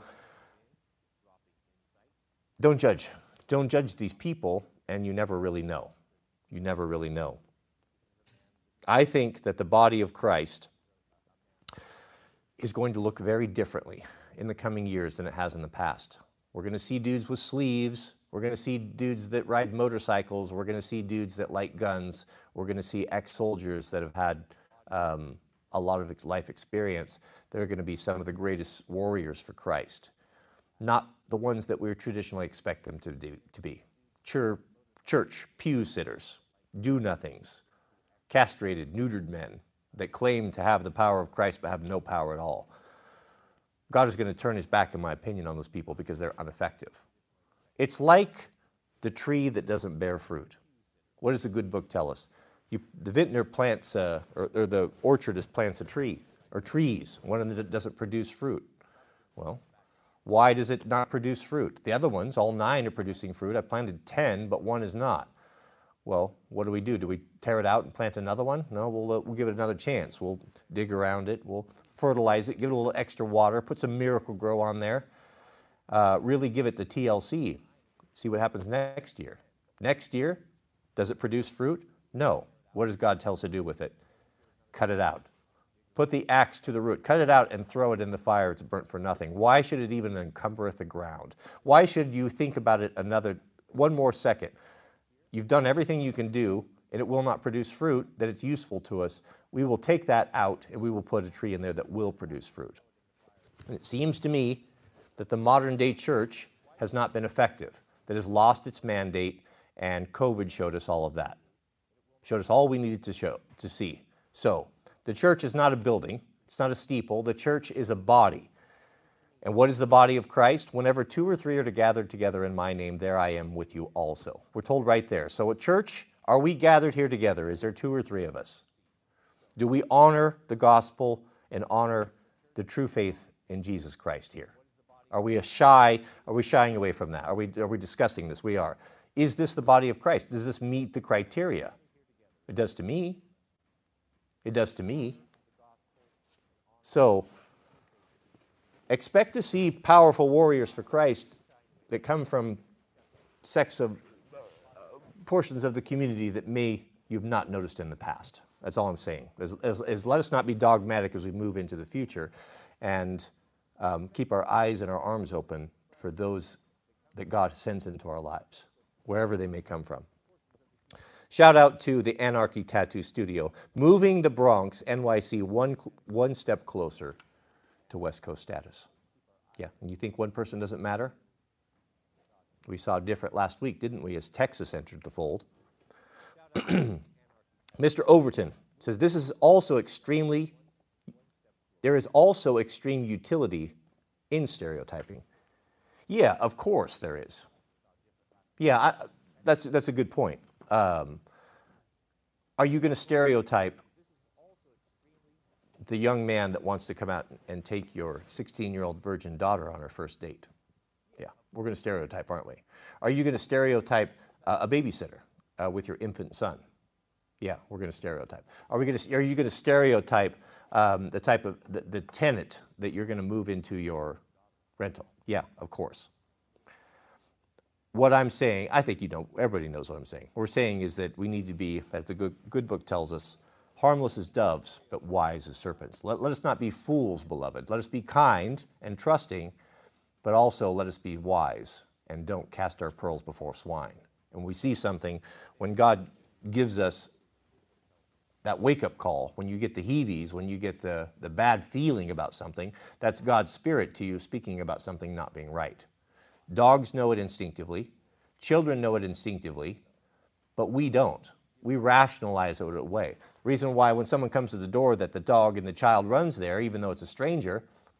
don't judge. Don't judge these people, and you never really know. You never really know. I think that the body of Christ is going to look very differently in the coming years than it has in the past. We're going to see dudes with sleeves. We're going to see dudes that ride motorcycles. We're going to see dudes that like guns. We're going to see ex-soldiers that have had a lot of life experience that are going to be some of the greatest warriors for Christ. Not the ones that we traditionally expect them to be. Church pew sitters, do-nothings, castrated, neutered men that claim to have the power of Christ but have no power at all. God is going to turn his back, in my opinion, on those people because they're ineffective. It's like the tree that doesn't bear fruit. What does the good book tell us? The vintner plants, or the orchardist plants a tree, or trees, one that doesn't produce fruit. Well, why does it not produce fruit? The other ones, all 9 are producing fruit. I planted 10, but 1 is not. Well, what do? Do we tear it out and plant another one? No, we'll give it another chance. We'll dig around it, we'll fertilize it, give it a little extra water, put some Miracle-Gro on there, really give it the TLC. See what happens next year. Next year, does it produce fruit? No. What does God tell us to do with it? Cut it out. Put the axe to the root. Cut it out and throw it in the fire. It's burnt for nothing. Why should it even encumbereth the ground? Why should you think about it one more second? You've done everything you can do, and it will not produce fruit, that it's useful to us. We will take that out, and we will put a tree in there that will produce fruit. And it seems to me that the modern day church has not been effective, that has lost its mandate, and COVID showed us all of that. Showed us all we needed to see. So, the church is not a building. It's not a steeple. The church is a body. And what is the body of Christ? Whenever 2 or 3 are gathered together in my name, there I am with you also. We're told right there. So at church, are we gathered here together? Is there 2 or 3 of us? Do we honor the gospel and honor the true faith in Jesus Christ here? Are we shying away from that? Are we discussing this? We are. Is this the body of Christ? Does this meet the criteria? It does to me. It does to me. So, expect to see powerful warriors for Christ that come from portions of the community that you've not noticed in the past. That's all I'm saying. Let us not be dogmatic as we move into the future, and keep our eyes and our arms open for those that God sends into our lives, wherever they may come from. Shout out to the Anarchy Tattoo Studio, moving the Bronx, NYC, one step closer to West Coast status. Yeah, and you think one person doesn't matter? We saw different last week, didn't we, as Texas entered the fold. Mr. Overton says, there is also extreme utility in stereotyping. Yeah, of course there is. Yeah, that's a good point. Are you going to stereotype the young man that wants to come out and take your 16-year-old virgin daughter on her first date? Yeah, we're going to stereotype, aren't we? Are you going to stereotype a babysitter with your infant son? Yeah, we're going to stereotype. Are you going to stereotype the type of the tenant that you're going to move into your rental? Yeah, of course. What I'm saying, I think everybody knows what I'm saying. What we're saying is that we need to be, as the good book tells us, harmless as doves, but wise as serpents. Let us not be fools, beloved. Let us be kind and trusting, but also let us be wise and don't cast our pearls before swine. And we see something, when God gives us that wake-up call, when you get the heavies, when you get the bad feeling about something, that's God's Spirit to you speaking about something not being right. Dogs know it instinctively. Children know it instinctively, but we don't. We rationalize it away. The reason why when someone comes to the door that the dog and the child runs there, even though it's a stranger,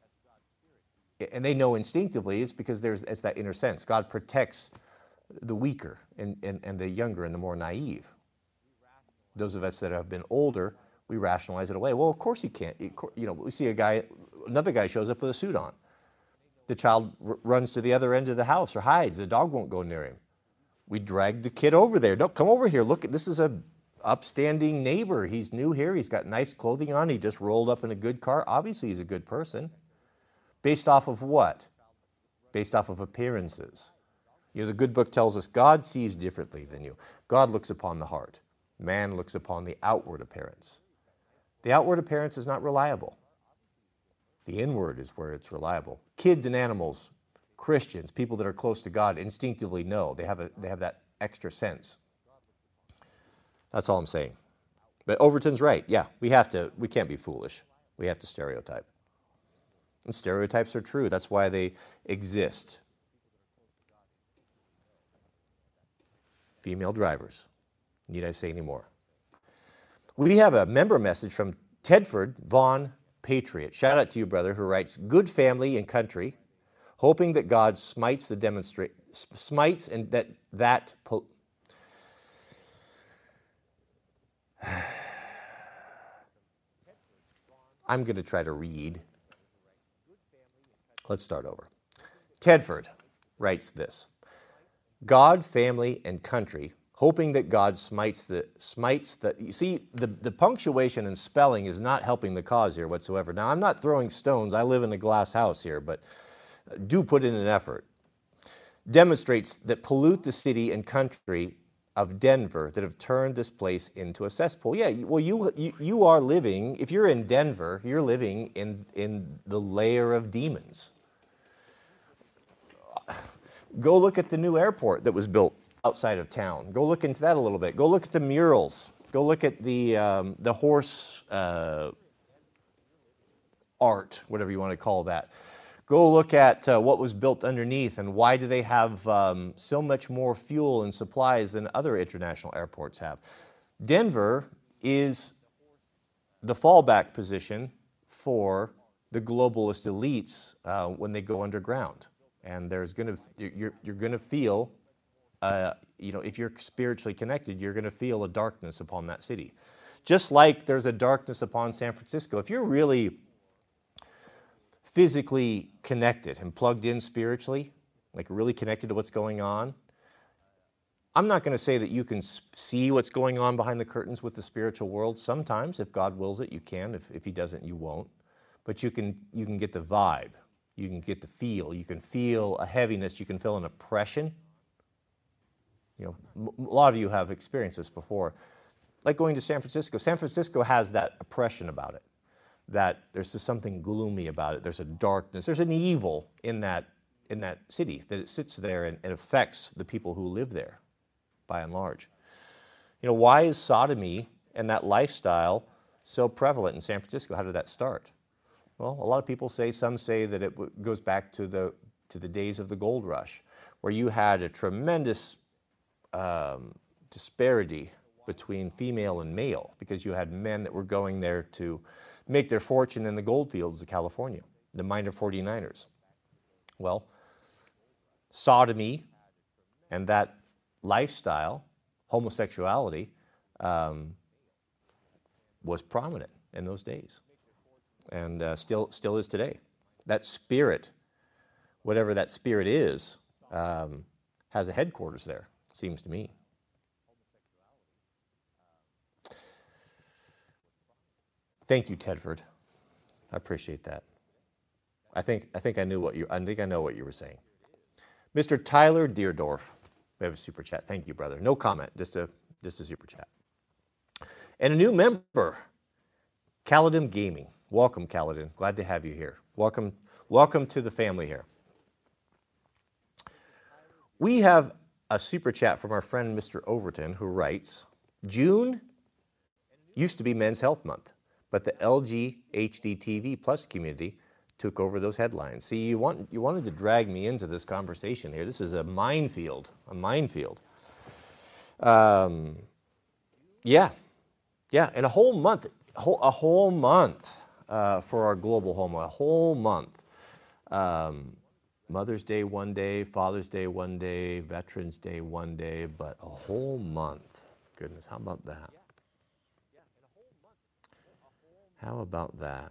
and they know instinctively, is because it's that inner sense. God protects the weaker and the younger and the more naive. Those of us that have been older, we rationalize it away. Well, of course he can't. We see another guy shows up with a suit on. The child runs to the other end of the house or hides. The dog won't go near him. We drag the kid over there. No, come over here. Look, this is a upstanding neighbor. He's new here. He's got nice clothing on. He just rolled up in a good car. Obviously, he's a good person. Based off of what? Based off of appearances. The good book tells us God sees differently than you. God looks upon the heart. Man looks upon the outward appearance. The outward appearance is not reliable. The inward is where it's reliable. Kids and animals, Christians, people that are close to God, instinctively know. They have that extra sense. That's all I'm saying. But Overton's right. Yeah, we can't be foolish. We have to stereotype. And stereotypes are true. That's why they exist. Female drivers. Need I say any more? We have a member message from Tedford Vaughn Patriot. Shout out to you, brother, who writes, "Good family and country, hoping that God smites and that that I'm going to try to read. Let's start over. Tedford writes this: God, family, and country, hoping that God smites the, you see, the punctuation and spelling is not helping the cause here whatsoever. Now, I'm not throwing stones. I live in a glass house here, but do put in an effort. Demonstrates that pollute the city and country of Denver that have turned this place into a cesspool. Yeah, well, you are living, if you're in Denver, you're living in the layer of demons. Go look at the new airport that was built outside of town. Go look into that a little bit. Go look at the murals. Go look at the horse art, whatever you want to call that. Go look at what was built underneath and why do they have so much more fuel and supplies than other international airports have. Denver is the fallback position for the globalist elites when they go underground. And there's you're going to feel, you know, if you're spiritually connected, you're going to feel a darkness upon that city. Just like there's a darkness upon San Francisco. If you're really physically connected and plugged in spiritually, like really connected to what's going on, I'm not going to say that you can see what's going on behind the curtains with the spiritual world. Sometimes, if God wills it, you can. If He doesn't, you won't. But you can get the vibe. You can get the feel. You can feel a heaviness. You can feel an oppression. You know, a lot of you have experienced this before. Like going to San Francisco. San Francisco has that oppression about it. That there's just something gloomy about it. There's a darkness. There's an evil in that city, that it sits there and affects the people who live there, by and large. You know, why is sodomy and that lifestyle so prevalent in San Francisco? How did that start? Well, a lot of people say, some say that it goes back to the days of the gold rush, where you had a tremendous disparity between female and male, because you had men that were going there to make their fortune in the gold fields of California, the minor 49ers. Well, sodomy and that lifestyle, homosexuality, was prominent in those days, and still is today. That spirit, whatever that spirit is, has a headquarters there, seems to me. Thank you, Tedford. I appreciate that. I think I know what you were saying. Mr. Tyler Deerdorf, we have a super chat. Thank you, brother. No comment, just a super chat. And a new member, Kaladin Gaming. Welcome, Kaladin. Glad to have you here. Welcome to the family here. We have a super chat from our friend Mr. Overton, who writes, June used to be Men's Health Month, but the LG HD TV Plus community took over those headlines. See, you wanted to drag me into this conversation here. This is a minefield, Yeah, and a whole month for our global home, a whole month. Mother's Day one day, Father's Day one day, Veterans Day one day, but a whole month. Goodness, how about that? How about that?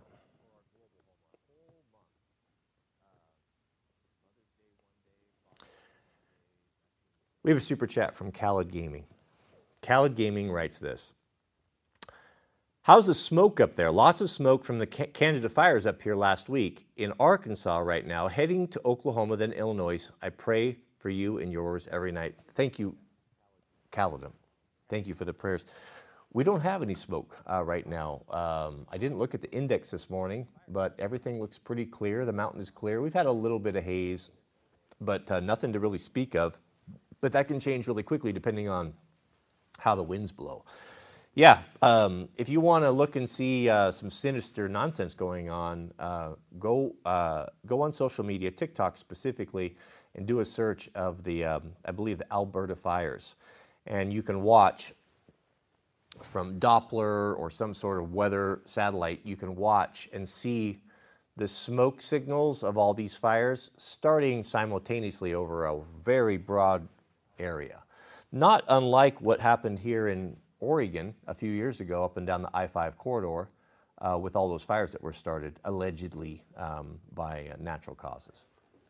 We have a super chat from Khaled Gaming. Khaled Gaming writes this. How's the smoke up there? Lots of smoke from the Canada fires up here last week. In Arkansas right now, heading to Oklahoma, then Illinois. I pray for you and yours every night. Thank you, Khaled. Thank you for the prayers. We don't have any smoke right now. I didn't look at the index this morning, but everything looks pretty clear. The mountain is clear. We've had a little bit of haze, but nothing to really speak of. But that can change really quickly depending on how the winds blow. Yeah, if you want to look and see some sinister nonsense going on, go on social media, TikTok specifically, and do a search of the, I believe, the Alberta fires. And you can watch from Doppler or some sort of weather satellite, you can watch and see the smoke signals of all these fires starting simultaneously over a very broad area. Not unlike what happened here in Oregon a few years ago up and down the I-5 corridor with all those fires that were started allegedly by natural causes.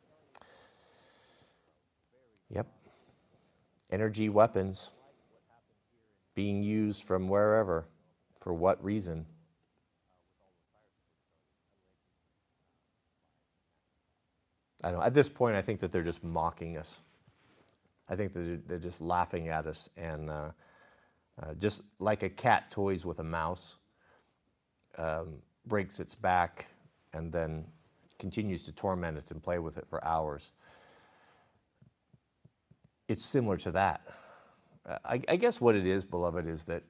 Yep. Energy weapons being used from wherever, for what reason? I don't know. At this point, I think that they're just mocking us. I think that they're just laughing at us, and just like a cat toys with a mouse, breaks its back and then continues to torment it and play with it for hours. It's similar to that. I guess what it is, beloved, is that,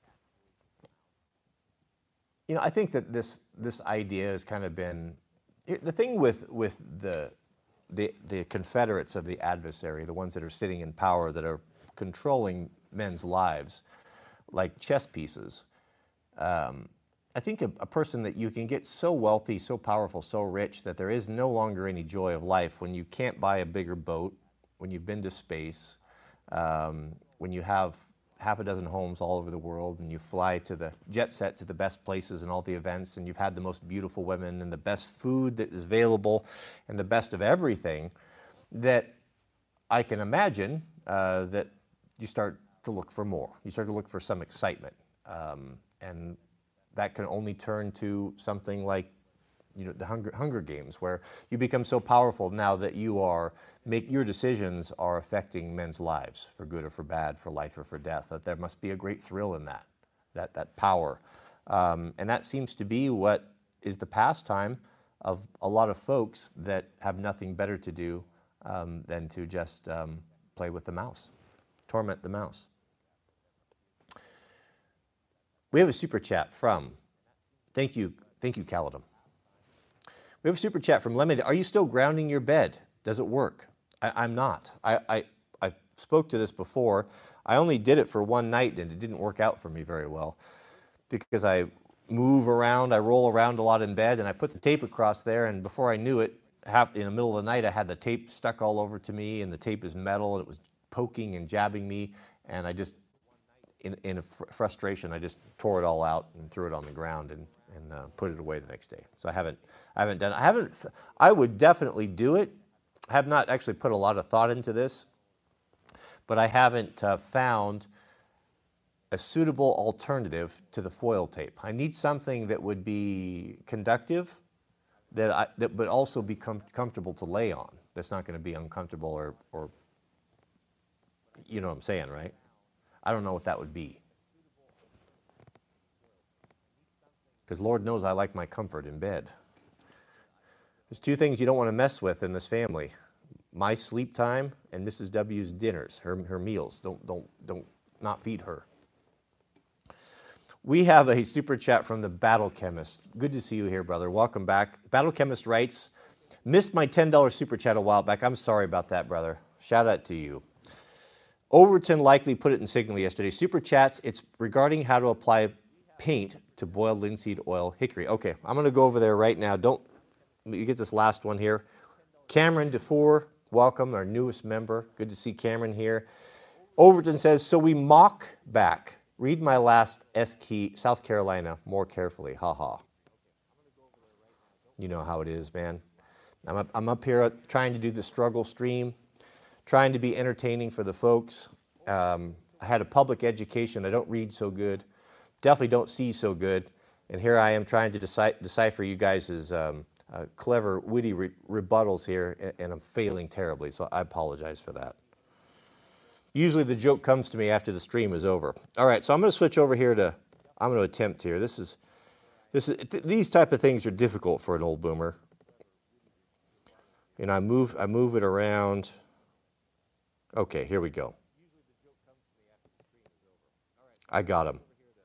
you know, I think that this idea has kind of been, the thing with the Confederates of the adversary, the ones that are sitting in power, that are controlling men's lives like chess pieces. I think a person that you can get so wealthy, so powerful, so rich that there is no longer any joy of life when you can't buy a bigger boat, when you've been to space, when you have half a dozen homes all over the world, and you fly to the jet set to the best places and all the events, and you've had the most beautiful women and the best food that is available and the best of everything, that I can imagine that you start to look for more. You start to look for some excitement. And that can only turn to something like, you know, the Hunger Games, where you become so powerful now that your decisions are affecting men's lives for good or for bad, for life or for death. That there must be a great thrill in that power, and that seems to be what is the pastime of a lot of folks that have nothing better to do than to just play with the mouse, torment the mouse. We have a super chat from, thank you, Caledon. We have a super chat from Lemon. Are you still grounding your bed? Does it work? I'm not. I spoke to this before. I only did it for one night, and it didn't work out for me very well because I move around, I roll around a lot in bed, and I put the tape across there, and before I knew it, in the middle of the night, I had the tape stuck all over to me, and the tape is metal, and it was poking and jabbing me, and I just, in frustration, I just tore it all out and threw it on the ground and put it away the next day. So I haven't done it. I would definitely do it. I have not actually put a lot of thought into this, but I haven't found a suitable alternative to the foil tape. I need something that would be conductive, that but also be comfortable to lay on. That's not going to be uncomfortable or you know what I'm saying, right? I don't know what that would be. Because Lord knows I like my comfort in bed. There's two things you don't want to mess with in this family: my sleep time and Mrs. W's dinners, her meals. Don't not feed her. We have a super chat from the Battle Chemist. Good to see you here, brother. Welcome back. Battle Chemist writes, missed my $10 super chat a while back. I'm sorry about that, brother. Shout out to you. Overton likely put it in Signal yesterday. Super chats, it's regarding how to apply paint to boiled linseed oil hickory. Okay, I'm going to go over there right now. You get this last one here. Cameron DeFore, welcome, our newest member. Good to see Cameron here. Overton says, so we mock back. Read my last S-key, South Carolina, more carefully. Ha ha. You know how it is, man. I'm up here trying to do the struggle stream, trying to be entertaining for the folks. I had a public education. I don't read so good. Definitely don't see so good. And here I am trying to decipher you guys' clever, witty rebuttals here, and I'm failing terribly, so I apologize for that. Usually the joke comes to me after the stream is over. All right, so I'm going to switch over here to, I'm going to attempt here. These type of things are difficult for an old boomer. You know, I move it around. Okay, here we go. I got him.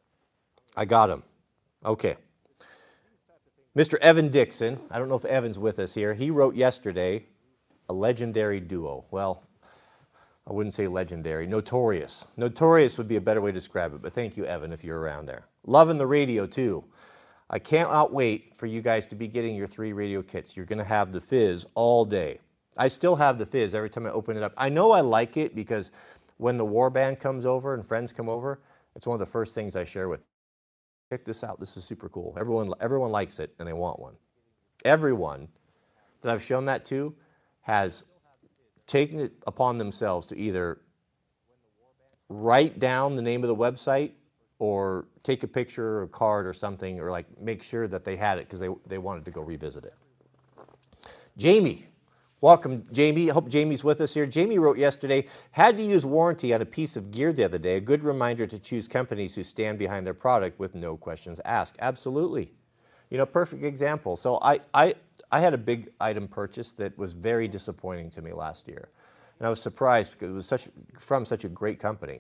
Okay. Mr. Evan Dixon, I don't know if Evan's with us here. He wrote yesterday, a legendary duo. Well, I wouldn't say legendary, notorious. Notorious would be a better way to describe it, but thank you, Evan, if you're around there. Loving the radio, too. I can't wait for you guys to be getting your 3 radio kits. You're going to have the fizz all day. I still have the fizz every time I open it up. I know I like it because when the warband comes over and friends come over, it's one of the first things I share with. Check this out. This is super cool. Everyone likes it and they want one. Everyone that I've shown that to has taken it upon themselves to either write down the name of the website or take a picture or a card or something, or like make sure that they had it because they wanted to go revisit it. Jamie, welcome Jamie. I hope Jamie's with us here. Jamie wrote yesterday, had to use warranty on a piece of gear the other day. A good reminder to choose companies who stand behind their product with no questions asked. Absolutely. You know, perfect example. So I had a big item purchase that was very disappointing to me last year. And I was surprised because it was from such a great company.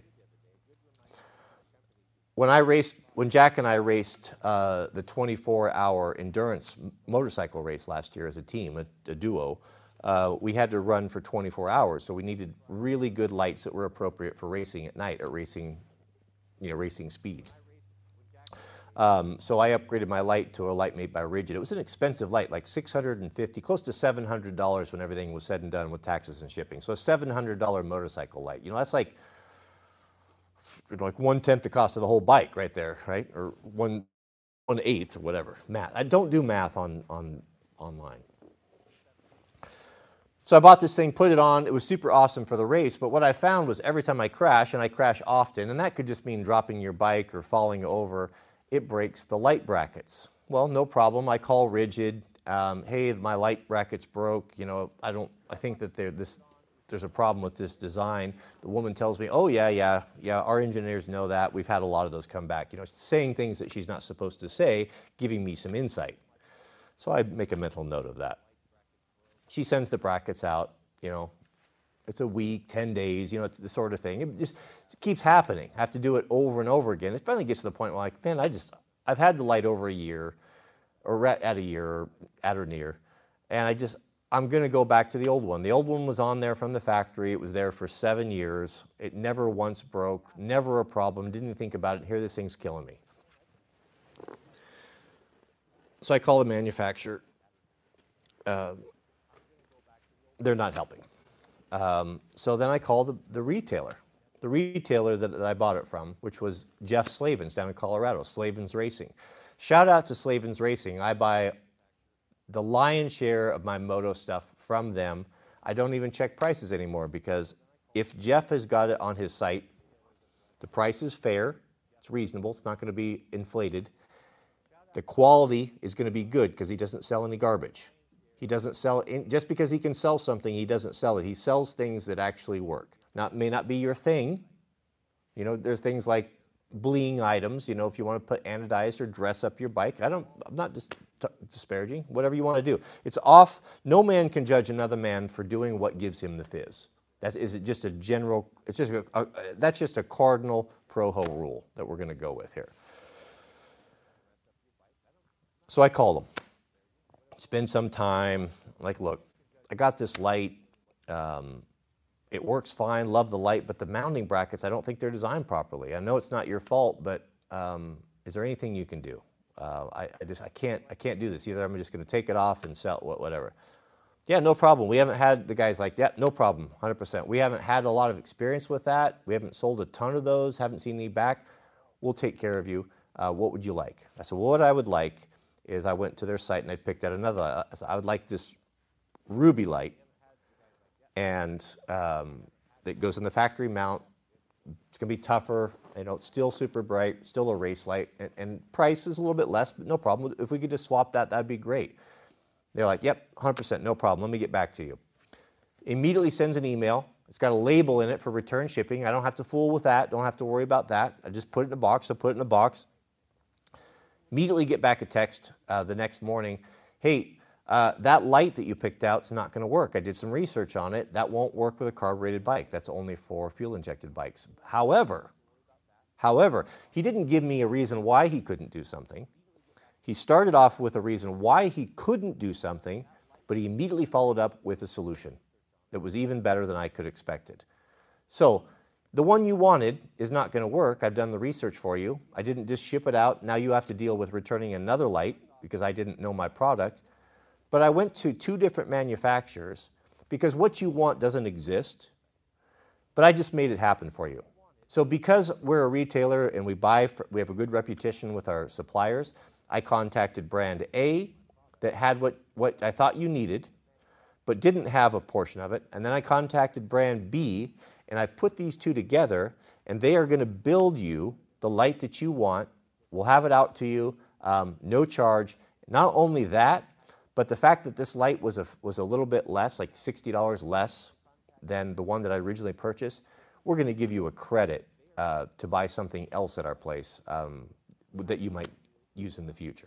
When Jack and I raced the 24-hour endurance motorcycle race last year as a team, a duo, we had to run for 24 hours. So we needed really good lights that were appropriate for racing at night, or racing speeds. So I upgraded my light to a light made by Rigid. It was an expensive light, like $650, close to $700 when everything was said and done with taxes and shipping. So a $700 motorcycle light. You know, that's like 1/10 the cost of the whole bike right there, right? Or 1/8 or whatever. Math. I don't do math online. So I bought this thing, put it on. It was super awesome for the race. But what I found was every time I crash, and I crash often, and that could just mean dropping your bike or falling over, it breaks the light brackets. Well, no problem. I call Rigid. Hey, my light brackets broke. You know, I think that there's a problem with this design. The woman tells me, oh, yeah, our engineers know that. We've had a lot of those come back. You know, saying things that she's not supposed to say, giving me some insight. So I make a mental note of that. She sends the brackets out, you know, it's a week, 10 days, you know, it's the sort of thing. It just keeps happening. I have to do it over and over again. It finally gets to the point where, like, man, I've had the light over a year, or at a year, or at or near, and I'm going to go back to the old one. The old one was on there from the factory. It was there for 7 years. It never once broke, never a problem, didn't think about it. Here, this thing's killing me. So I call the manufacturer. They're not helping. So then I call the retailer that I bought it from, which was Jeff Slavens down in Colorado, Slavens Racing. Shout out to Slavens Racing. I buy the lion's share of my moto stuff from them. I don't even check prices anymore because if Jeff has got it on his site, the price is fair, it's reasonable, it's not going to be inflated. The quality is going to be good because he doesn't sell any garbage. He doesn't sell, just because he can sell something, he doesn't sell it. He sells things that actually work. Now, it may not be your thing. You know, there's things like bling items, you know, if you want to put anodized or dress up your bike. I'm not just disparaging, whatever you want to do. It's off. No man can judge another man for doing what gives him the fizz. Is it just a general, that's just a cardinal pro-ho rule that we're going to go with here. So I call them. Spend some time, like, look, I got this light. It works fine, love the light, but the mounting brackets, I don't think they're designed properly. I know it's not your fault, but is there anything you can do? I can't do this. Either I'm just going to take it off and sell whatever. Yeah, no problem. We haven't had, the guy's like, yeah, no problem, 100%. We haven't had a lot of experience with that. We haven't sold a ton of those, haven't seen any back. We'll take care of you. What would you like? I said, well, what I would like is I went to their site and I picked out another. I said, I would like this ruby light, and that goes in the factory mount. It's going to be tougher. You know, it's still super bright, still a race light, and price is a little bit less, but no problem. If we could just swap that, that'd be great. They're like, yep, 100%, no problem. Let me get back to you. Immediately sends an email. It's got a label in it for return shipping. I don't have to fool with that. Don't have to worry about that. I just put it in a box. I put it in a box. Immediately get back a text the next morning. Hey, that light that you picked out is not going to work. I did some research on it. That won't work with a carbureted bike. That's only for fuel-injected bikes. However, he didn't give me a reason why he couldn't do something. He started off with a reason why he couldn't do something, but he immediately followed up with a solution that was even better than I could have expected. So the one you wanted is not going to work. I've done the research for you. I didn't just ship it out. Now you have to deal with returning another light because I didn't know my product. But I went to 2 different manufacturers because what you want doesn't exist, but I just made it happen for you. So because we're a retailer and we have a good reputation with our suppliers, I contacted brand A that had what I thought you needed, but didn't have a portion of it. And then I contacted brand B, and I've put these two together, and they are going to build you the light that you want. We'll have it out to you, no charge. Not only that, but the fact that this light was a little bit less, like $60 less than the one that I originally purchased, we're going to give you a credit to buy something else at our place that you might use in the future.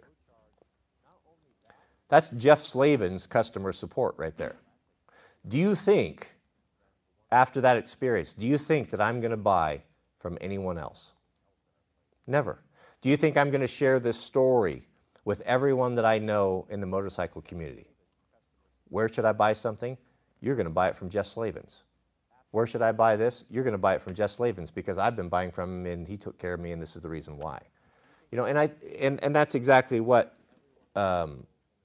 That's Jeff Slavin's customer support right there. Do you think, after that experience, do you think that I'm going to buy from anyone else? Never. Do you think I'm going to share this story with everyone that I know in the motorcycle community? Where should I buy something? You're going to buy it from Jeff Slavin's. Where should I buy this? You're going to buy it from Jeff Slavin's because I've been buying from him and he took care of me and this is the reason why. You know, and that's exactly what the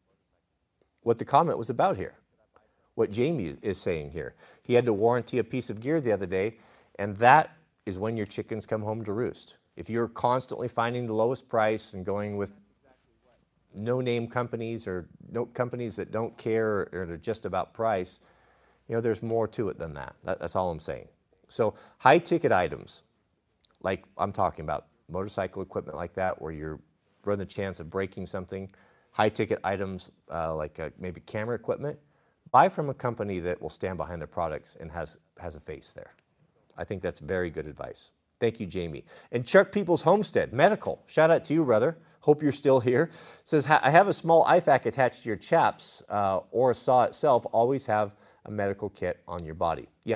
comment was about here. What Jamie is saying here. He had to warranty a piece of gear the other day, and that is when your chickens come home to roost. If you're constantly finding the lowest price and going with no-name companies or companies that don't care or are just about price, you know, there's more to it than that. That's all I'm saying. So high-ticket items, like I'm talking about, motorcycle equipment like that, where you're run the chance of breaking something, high-ticket items like maybe camera equipment, buy from a company that will stand behind their products and has a face there. I think that's very good advice. Thank you, Jamie. And Chuck Peoples Homestead, medical. Shout out to you, brother. Hope you're still here. Says, I have a small IFAK attached to your chaps or a saw itself. Always have a medical kit on your body. Yeah.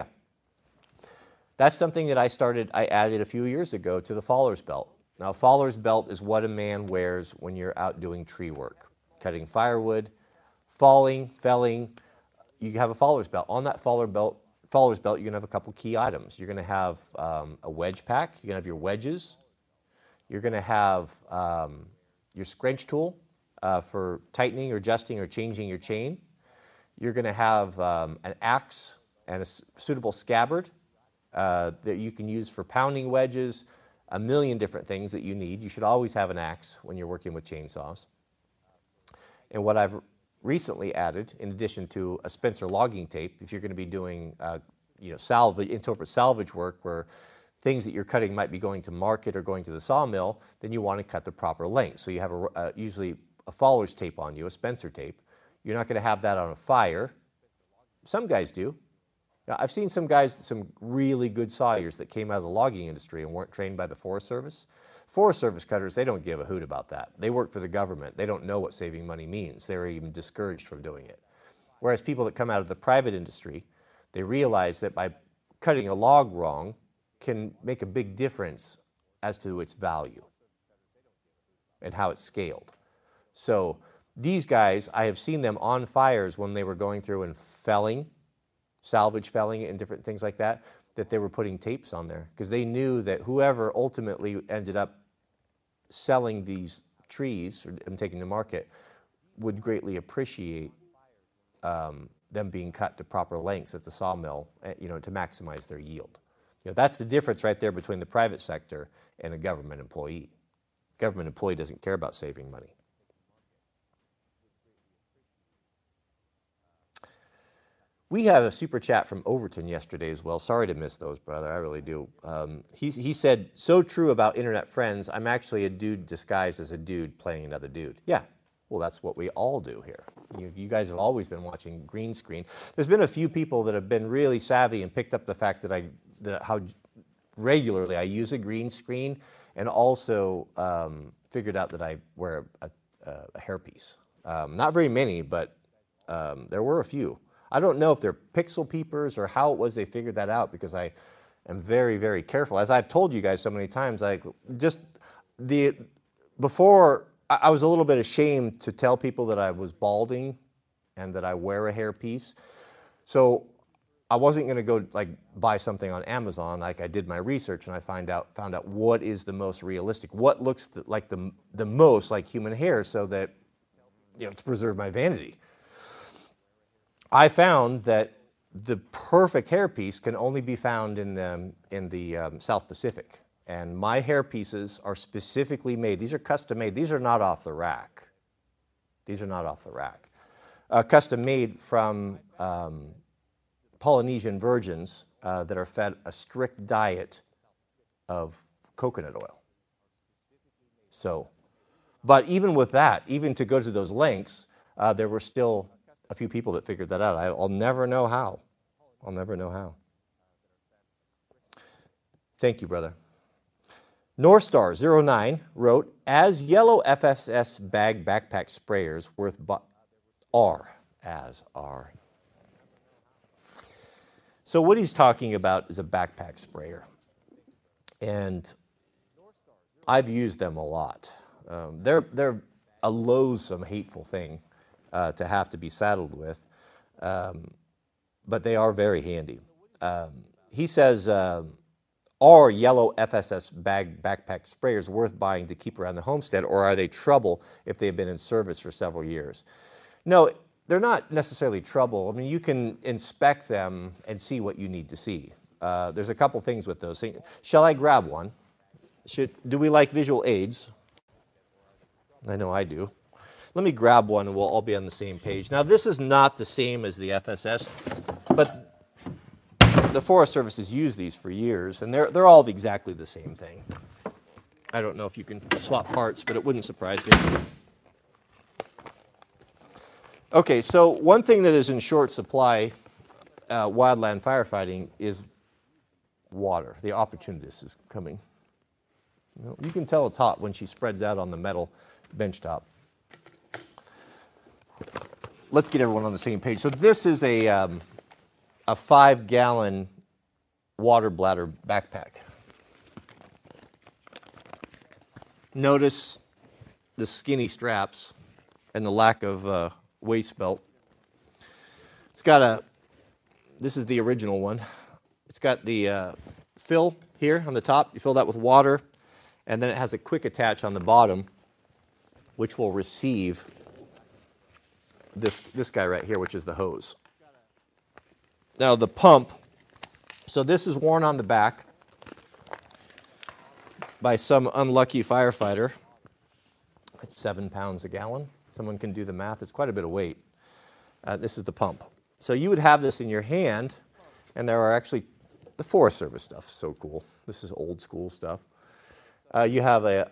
That's something that I added a few years ago to the Faller's belt. Now, Faller's belt is what a man wears when you're out doing tree work, cutting firewood, felling. You have a Faller's belt. On that Faller's belt, you're going to have a couple key items. You're going to have a wedge pack. You're going to have your wedges. You're going to have your scrunch tool for tightening or adjusting or changing your chain. You're going to have an axe and a suitable scabbard that you can use for pounding wedges, a million different things that you need. You should always have an axe when you're working with chainsaws. And what I've recently added, in addition to a Spencer logging tape, if you're going to be doing interpret salvage work where things that you're cutting might be going to market or going to the sawmill, then you want to cut the proper length. So you have usually a Faller's tape on you, a Spencer tape. You're not going to have that on a fire. Some guys do. Now, I've seen some guys, some really good sawyers that came out of the logging industry and weren't trained by the Forest Service. Forest Service cutters, they don't give a hoot about that. They work for the government. They don't know what saving money means. They're even discouraged from doing it. Whereas people that come out of the private industry, they realize that by cutting a log wrong can make a big difference as to its value and how it's scaled. So these guys, I have seen them on fires when they were going through and felling, salvage felling and different things like that, that they were putting tapes on there because they knew that whoever ultimately ended up selling these trees and taking to market would greatly appreciate them being cut to proper lengths at the sawmill, to maximize their yield. That's the difference right there between the private sector and a government employee. Government employee doesn't care about saving money. We had a super chat from Overton yesterday as well. Sorry to miss those, brother. I really do. He said, so true about internet friends. I'm actually a dude disguised as a dude playing another dude. Yeah, well, that's what we all do here. You guys have always been watching green screen. There's been a few people that have been really savvy and picked up the fact that how regularly I use a green screen, and also figured out that I wear a hairpiece. Not very many, but there were a few. I don't know if they're pixel peepers or how it was they figured that out, because I am very, very careful. As I've told you guys so many times, before I was a little bit ashamed to tell people that I was balding and that I wear a hairpiece. So I wasn't going to go buy something on Amazon. I did my research and I found out what is the most realistic, what looks like the most like human hair, so that to preserve my vanity. I found that the perfect hairpiece can only be found in the South Pacific. And my hairpieces are specifically made. These are custom made. These are not off the rack. These are not off the rack. Custom made from Polynesian virgins that are fed a strict diet of coconut oil. So, but even with that, even to go to those lengths, there were still a few people that figured that out. I'll never know how. I'll never know how. Thank you, brother. North Star 09 wrote, as yellow FSS bag backpack sprayers worth are. So what he's talking about is a backpack sprayer. And I've used them a lot. They're a loathsome, hateful thing to have to be saddled with, but they are very handy. He says, are yellow FSS bag backpack sprayers worth buying to keep around the homestead, or are they trouble if they've been in service for several years? No, they're not necessarily trouble. I mean, you can inspect them and see what you need to see. There's a couple things with those things. Shall I grab one? Do we like visual aids? I know I do. Let me grab one and we'll all be on the same page. Now, this is not the same as the FSS, but the Forest Service has used these for years, and they're all exactly the same thing. I don't know if you can swap parts, but it wouldn't surprise me. Okay, so one thing that is in short supply, wildland firefighting, is water. The opportunist is coming. You can tell it's hot when she spreads out on the metal bench top. Let's get everyone on the same page. So this is a 5-gallon water bladder backpack. Notice the skinny straps and the lack of waist belt. It's got this is the original one. It's got the fill here on the top. You fill that with water, and then it has a quick attach on the bottom, which will receive this guy right here, which is the hose. Now the pump, so this is worn on the back by some unlucky firefighter. It's 7 pounds a gallon. Someone can do the math. It's quite a bit of weight. This is the pump. So you would have this in your hand, and there are actually the Forest Service stuff. So cool. This is old school stuff. You have a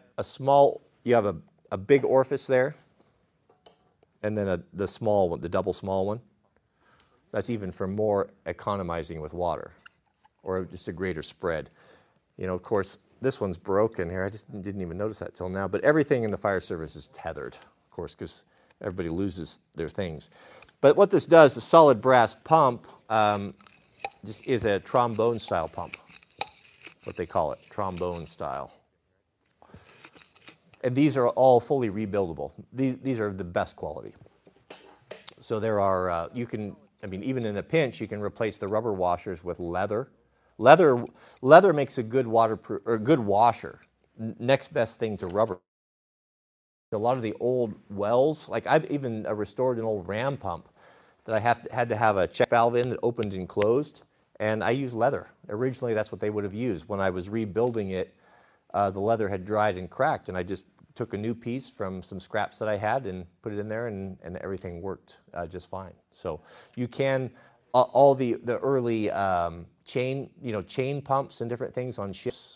big orifice there, and then the small one, the double small one. That's even for more economizing with water, or just a greater spread. You know, of course, this one's broken here. I just didn't even notice that till now. But everything in the fire service is tethered, of course, because everybody loses their things. But what this does, the solid brass pump, just is a trombone-style pump, what they call it, trombone style. And these are all fully rebuildable. These are the best quality. So there are, even in a pinch, you can replace the rubber washers with leather. Leather makes a good waterproof or good washer. Next best thing to rubber. A lot of the old wells, like I've even restored an old ram pump that I had to have a check valve in that opened and closed, and I used leather. Originally, that's what they would have used. When I was rebuilding it, the leather had dried and cracked, and I just took a new piece from some scraps that I had and put it in there, and everything worked just fine. So you can, all the early chain pumps and different things on ships,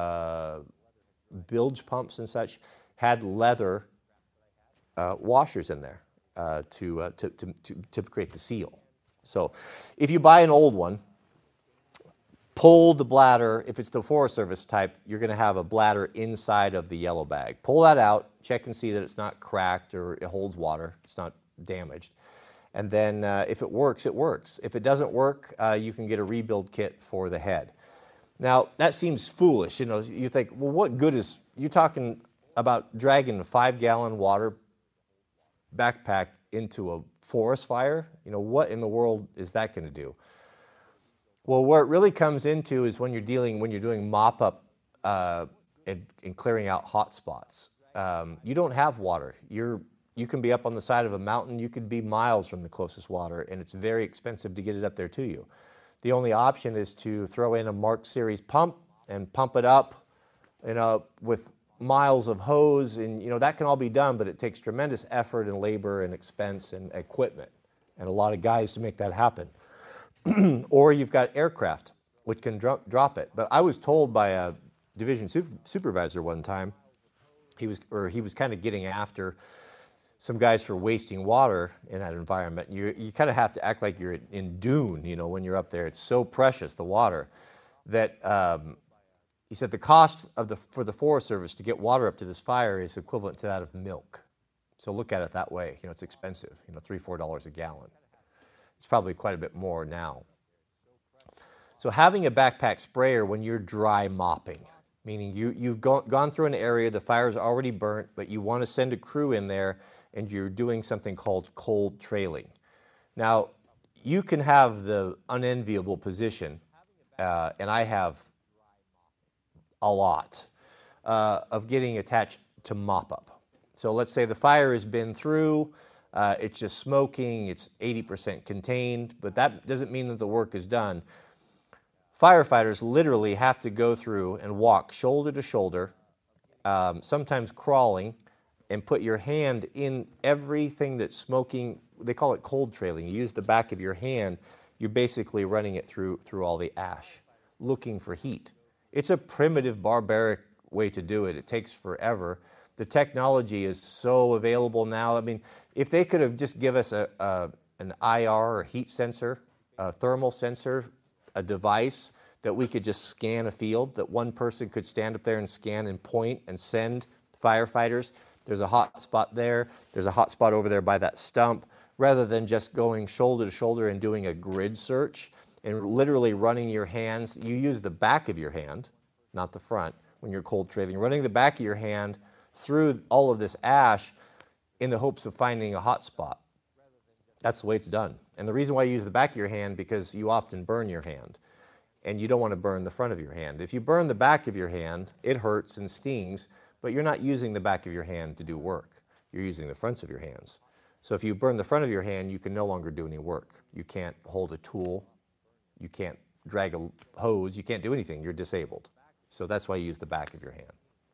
bilge pumps and such, had leather washers in there to create the seal. So if you buy an old one, pull the bladder. If it's the Forest Service type, you're going to have a bladder inside of the yellow bag. Pull that out, check and see that it's not cracked or it holds water, it's not damaged. And then if it works, it works. If it doesn't work, you can get a rebuild kit for the head. Now, that seems foolish. You know, you think, well, what good is, you're talking about dragging a 5-gallon water backpack into a forest fire? You know, what in the world is that going to do? Well, where it really comes into is when you're doing mop-up and clearing out hot spots. You don't have water. You're You can be up on the side of a mountain, you could be miles from the closest water, and it's very expensive to get it up there to you. The only option is to throw in a Mark Series pump and pump it up, with miles of hose, and that can all be done, but it takes tremendous effort and labor and expense and equipment and a lot of guys to make that happen. Or you've got aircraft, which can drop it. But I was told by a division supervisor one time, he was kind of getting after some guys for wasting water in that environment. You kind of have to act like you're in Dune, when you're up there. It's so precious, the water, that he said the cost for the Forest Service to get water up to this fire is equivalent to that of milk. So look at it that way. It's expensive, $3, $4 a gallon. It's probably quite a bit more now. So having a backpack sprayer when you're dry mopping, meaning you've gone through an area, the fire's already burnt, but you want to send a crew in there and you're doing something called cold trailing. Now, you can have the unenviable position, and I have a lot, of getting attached to mop up. So let's say the fire has been through, it's just smoking, it's 80% contained, but that doesn't mean that the work is done. Firefighters literally have to go through and walk shoulder to shoulder, sometimes crawling, and put your hand in everything that's smoking. They call it cold trailing. You use the back of your hand, you're basically running it through all the ash, looking for heat. It's a primitive, barbaric way to do it. It takes forever. The technology is so available now. I mean, if they could have just give us an IR or heat sensor, a thermal sensor, a device that we could just scan a field, that one person could stand up there and scan and point and send firefighters. There's a hot spot there. There's a hot spot over there by that stump, rather than just going shoulder to shoulder and doing a grid search and literally running your hands. You use the back of your hand, not the front, when you're cold trailing. Running the back of your hand through all of this ash in the hopes of finding a hot spot. That's the way it's done. And the reason why you use the back of your hand, because you often burn your hand, and you don't want to burn the front of your hand. If you burn the back of your hand, it hurts and stings, but you're not using the back of your hand to do work. You're using the fronts of your hands. So if you burn the front of your hand, you can no longer do any work. You can't hold a tool. You can't drag a hose. You can't do anything. You're disabled. So that's why you use the back of your hand.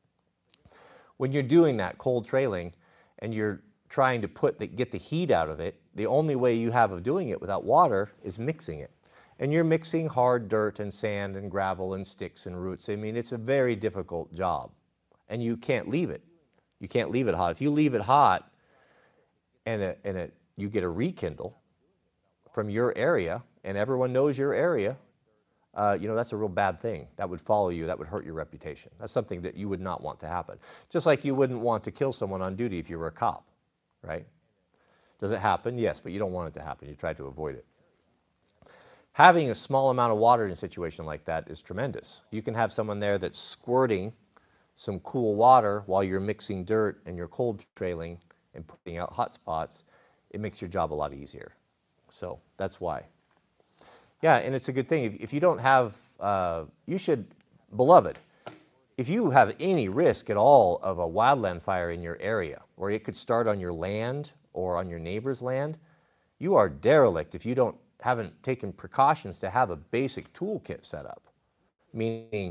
When you're doing that cold trailing and you're trying to get the heat out of it, the only way you have of doing it without water is mixing it. And you're mixing hard dirt and sand and gravel and sticks and roots. I mean, it's a very difficult job. And you can't leave it. You can't leave it hot. If you leave it hot and you get a rekindle from your area, and everyone knows your area, that's a real bad thing. That would follow you. That would hurt your reputation. That's something that you would not want to happen. Just like you wouldn't want to kill someone on duty if you were a cop, right? Does it happen? Yes, but you don't want it to happen. You try to avoid it. Having a small amount of water in a situation like that is tremendous. You can have someone there that's squirting some cool water while you're mixing dirt and you're cold trailing and putting out hot spots. It makes your job a lot easier. So that's why. Yeah, and it's a good thing. If you don't have, you should, beloved, if you have any risk at all of a wildland fire in your area, or it could start on your land or on your neighbor's land, you are derelict if you haven't taken precautions to have a basic toolkit set up, meaning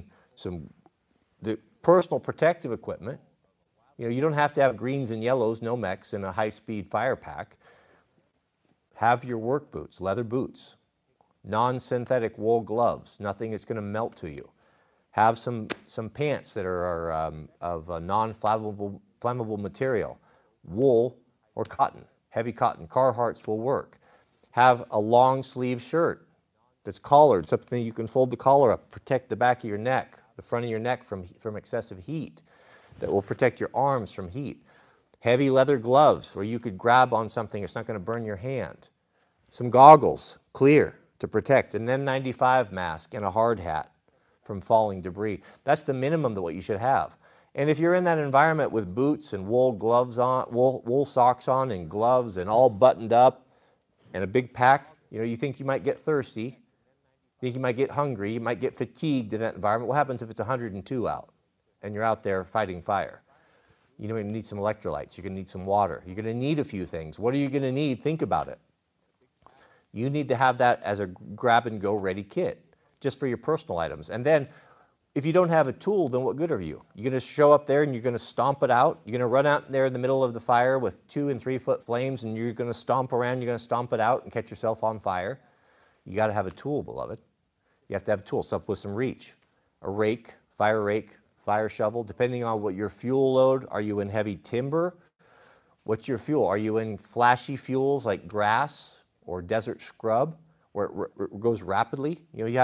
the personal protective equipment. You don't have to have greens and yellows, Nomex, and a high-speed fire pack. Have your work boots, leather boots, non-synthetic wool gloves, nothing that's going to melt to you. Have some pants that are of a non-flammable material, wool or cotton, heavy cotton. Carhartts will work. Have a long sleeve shirt that's collared, something you can fold the collar up, protect the back of your neck, the front of your neck from excessive heat, that will protect your arms from heat. Heavy leather gloves where you could grab on something, it's not going to burn your hand. Some goggles, clear, to protect. An N95 mask and a hard hat from falling debris. That's the minimum that what you should have. And if you're in that environment with boots and wool gloves on, wool socks on and gloves and all buttoned up and a big pack, you think you might get thirsty, you think you might get hungry, you might get fatigued in that environment. What happens if it's 102 out and you're out there fighting fire? You're going to need some electrolytes. You're going to need some water. You're going to need a few things. What are you going to need? Think about it. You need to have that as a grab-and-go ready kit, just for your personal items. And then, if you don't have a tool, then what good are you? You're going to show up there and you're going to stomp it out. You're going to run out there in the middle of the fire with 2 and 3 foot flames, and you're going to stomp around. You're going to stomp it out and catch yourself on fire. You got to have a tool, beloved. You have to have a tool, something with some reach. A rake, fire shovel, depending on what your fuel load. Are you in heavy timber? What's your fuel? Are you in flashy fuels like grass or desert scrub, where it goes rapidly?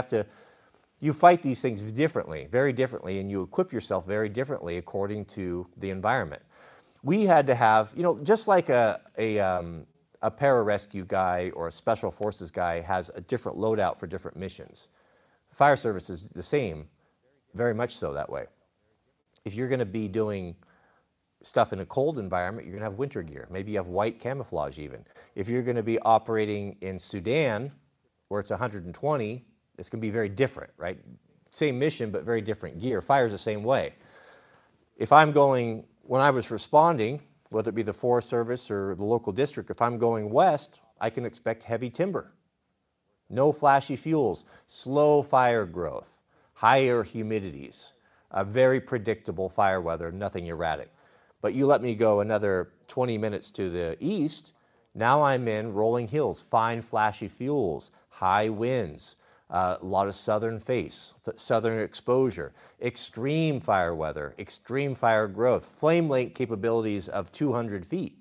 You fight these things differently, very differently, and you equip yourself very differently according to the environment. We had to have, just like a pararescue guy or a special forces guy has a different loadout for different missions. Fire service is the same, very much so that way. If you're going to be doing stuff in a cold environment, you're going to have winter gear. Maybe you have white camouflage even. If you're going to be operating in Sudan, where it's 120, it's going to be very different, right? Same mission, but very different gear. Fire's the same way. If I'm going, when I was responding, whether it be the Forest Service or the local district, if I'm going west, I can expect heavy timber. No flashy fuels, slow fire growth, higher humidities, a very predictable fire weather, nothing erratic. But you let me go another 20 minutes to the east, now I'm in rolling hills, fine flashy fuels, high winds, a lot of southern face, southern exposure, extreme fire weather, extreme fire growth, flame length capabilities of 200 feet.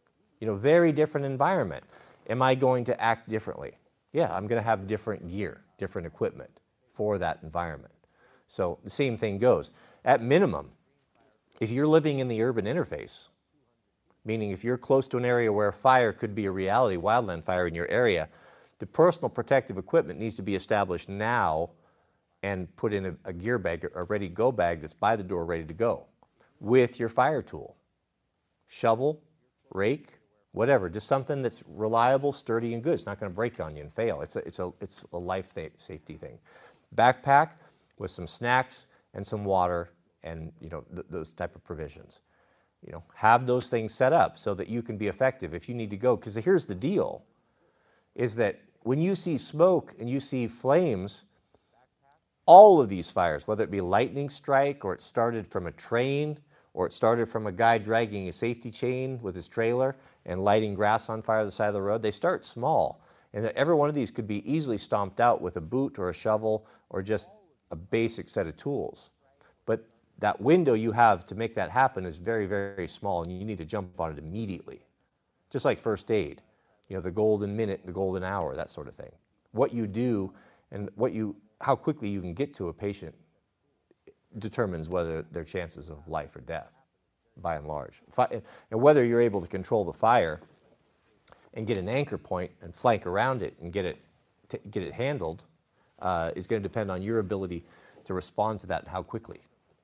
Very different environment. Am I going to act differently? Yeah, I'm going to have different gear, different equipment for that environment. So the same thing goes. At minimum, if you're living in the urban interface, meaning if you're close to an area where fire could be a reality, wildland fire in your area, the personal protective equipment needs to be established now and put in a gear bag, a ready-go bag that's by the door ready to go with your fire tool. Shovel, rake, whatever, just something that's reliable, sturdy, and good. It's not going to break on you and fail. It's a life safety thing. Backpack with some snacks and some water and those type of provisions. Have those things set up so that you can be effective if you need to go. Because here's the deal, is that when you see smoke and you see flames, all of these fires, whether it be lightning strike or it started from a train or it started from a guy dragging a safety chain with his trailer and lighting grass on fire on the side of the road, they start small. And every one of these could be easily stomped out with a boot or a shovel or just a basic set of tools. But that window you have to make that happen is very, very small, and you need to jump on it immediately. Just like first aid, the golden minute, the golden hour, that sort of thing. What you do and how quickly you can get to a patient determines whether their chances of life or death, by and large. And whether you're able to control the fire and get an anchor point and flank around it and get it handled is going to depend on your ability to respond to that and how quickly.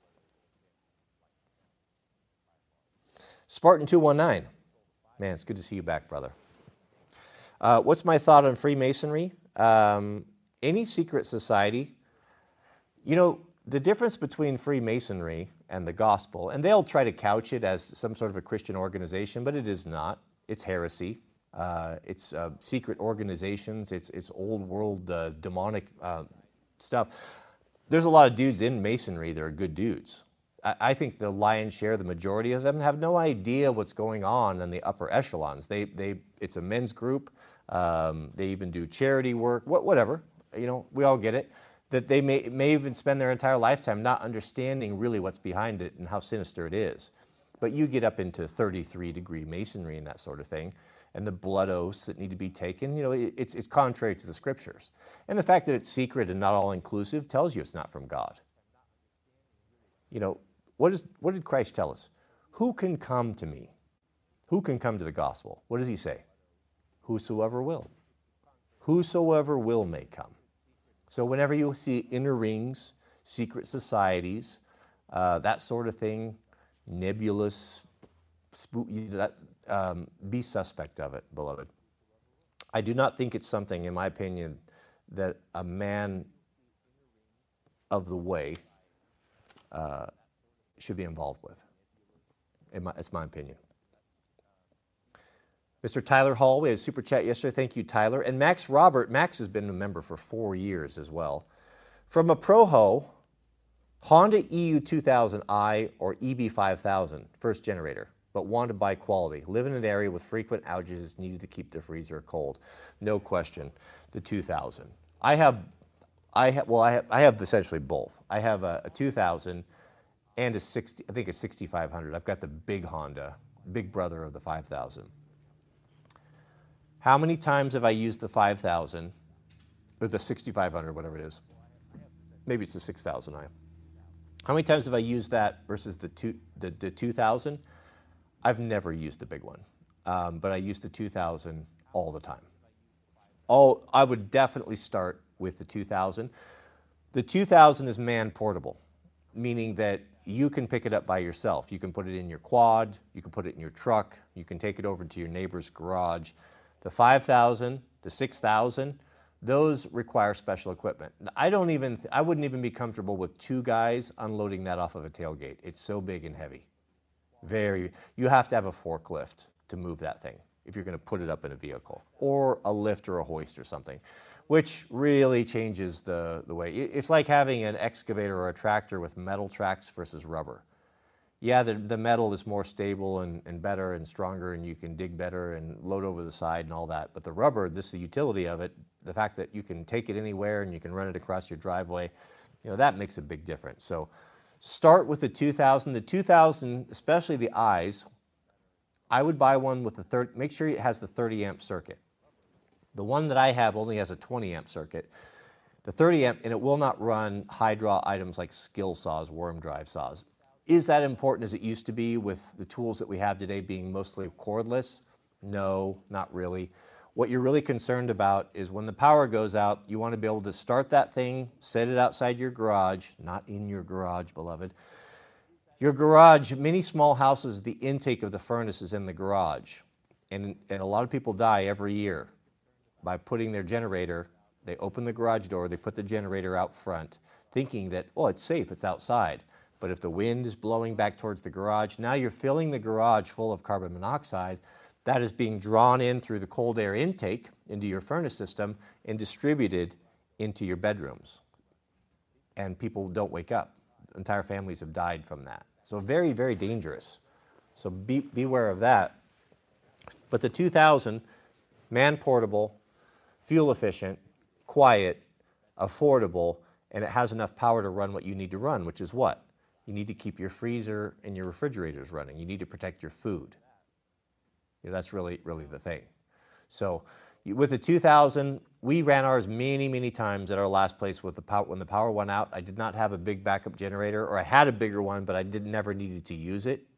Spartan 219. Man, it's good to see you back, brother. What's my thought on Freemasonry? Any secret society, the difference between Freemasonry and the gospel, and they'll try to couch it as some sort of a Christian organization, but it is not. It's heresy. It's secret organizations. It's old world demonic stuff. There's a lot of dudes in Masonry that are good dudes. I think the lion's share, the majority of them, have no idea what's going on in the upper echelons. It's a men's group. They even do charity work, whatever. We all get it. That they may even spend their entire lifetime not understanding really what's behind it and how sinister it is. But you get up into 33-degree Masonry and that sort of thing, and the blood oaths that need to be taken, it's contrary to the scriptures. And the fact that it's secret and not all-inclusive tells you it's not from God. What did Christ tell us? Who can come to me? Who can come to the gospel? What does he say? Whosoever will. Whosoever will may come. So whenever you see inner rings, secret societies, that sort of thing, nebulous, be suspect of it, beloved. I do not think it's something, in my opinion, that a man of the way should be involved with. That's my opinion. Mr. Tyler Hall, we had a super chat yesterday. Thank you, Tyler. And Max Robert, Max has been a member for 4 years as well. From a Proho, Honda EU2000i or EB5000, first generator, but wanted to buy quality. Live in an area with frequent outages, needed to keep the freezer cold. No question, the 2000. I have essentially both. I have a 2000 and a 6500. I've got the big Honda, big brother of the 5000. How many times have I used the 5000 or the 6500, whatever it is? Maybe it's the 6000i. How many times have I used that versus the 2000? I've never used the big one, but I use the 2000 all the time. I would definitely start with the 2000. The 2000 is man portable, meaning that you can pick it up by yourself. You can put it in your quad, you can put it in your truck, you can take it over to your neighbor's garage. The 5000, the 6000, those require special equipment. I wouldn't even be comfortable with 2 guys unloading that off of a tailgate. It's so big and heavy. You have to have a forklift to move that thing if you're going to put it up in a vehicle, or a lift or a hoist or something, which really changes the way. It's like having an excavator or a tractor with metal tracks versus rubber. Yeah, the metal is more stable and better and stronger, and you can dig better and load over the side and all that. But the rubber, this is the utility of it, the fact that you can take it anywhere and you can run it across your driveway, that makes a big difference. So start with the 2000. The 2000, especially the eyes, I would buy one with make sure it has the 30 amp circuit. The one that I have only has a 20 amp circuit. The 30 amp, and it will not run high draw items like skill saws, worm drive saws. Is that important as it used to be with the tools that we have today being mostly cordless? No, not really. What you're really concerned about is when the power goes out, you want to be able to start that thing, set it outside your garage, not in your garage, beloved. Your garage, many small houses, the intake of the furnace is in the garage. And a lot of people die every year by putting their generator, they open the garage door, they put the generator out front, thinking that, oh, it's safe, it's outside. But if the wind is blowing back towards the garage, now you're filling the garage full of carbon monoxide that is being drawn in through the cold air intake into your furnace system and distributed into your bedrooms. And people don't wake up. Entire families have died from that. So very, very dangerous. So beware of that. But the 2000, man portable, fuel efficient, quiet, affordable, and it has enough power to run what you need to run, which is what? You need to keep your freezer and your refrigerators running. You need to protect your food. That's really, really the thing. So with the 2000, we ran ours many, many times at our last place with when the power went out. I did not have a big backup generator, or I had a bigger one, but I never needed to use it.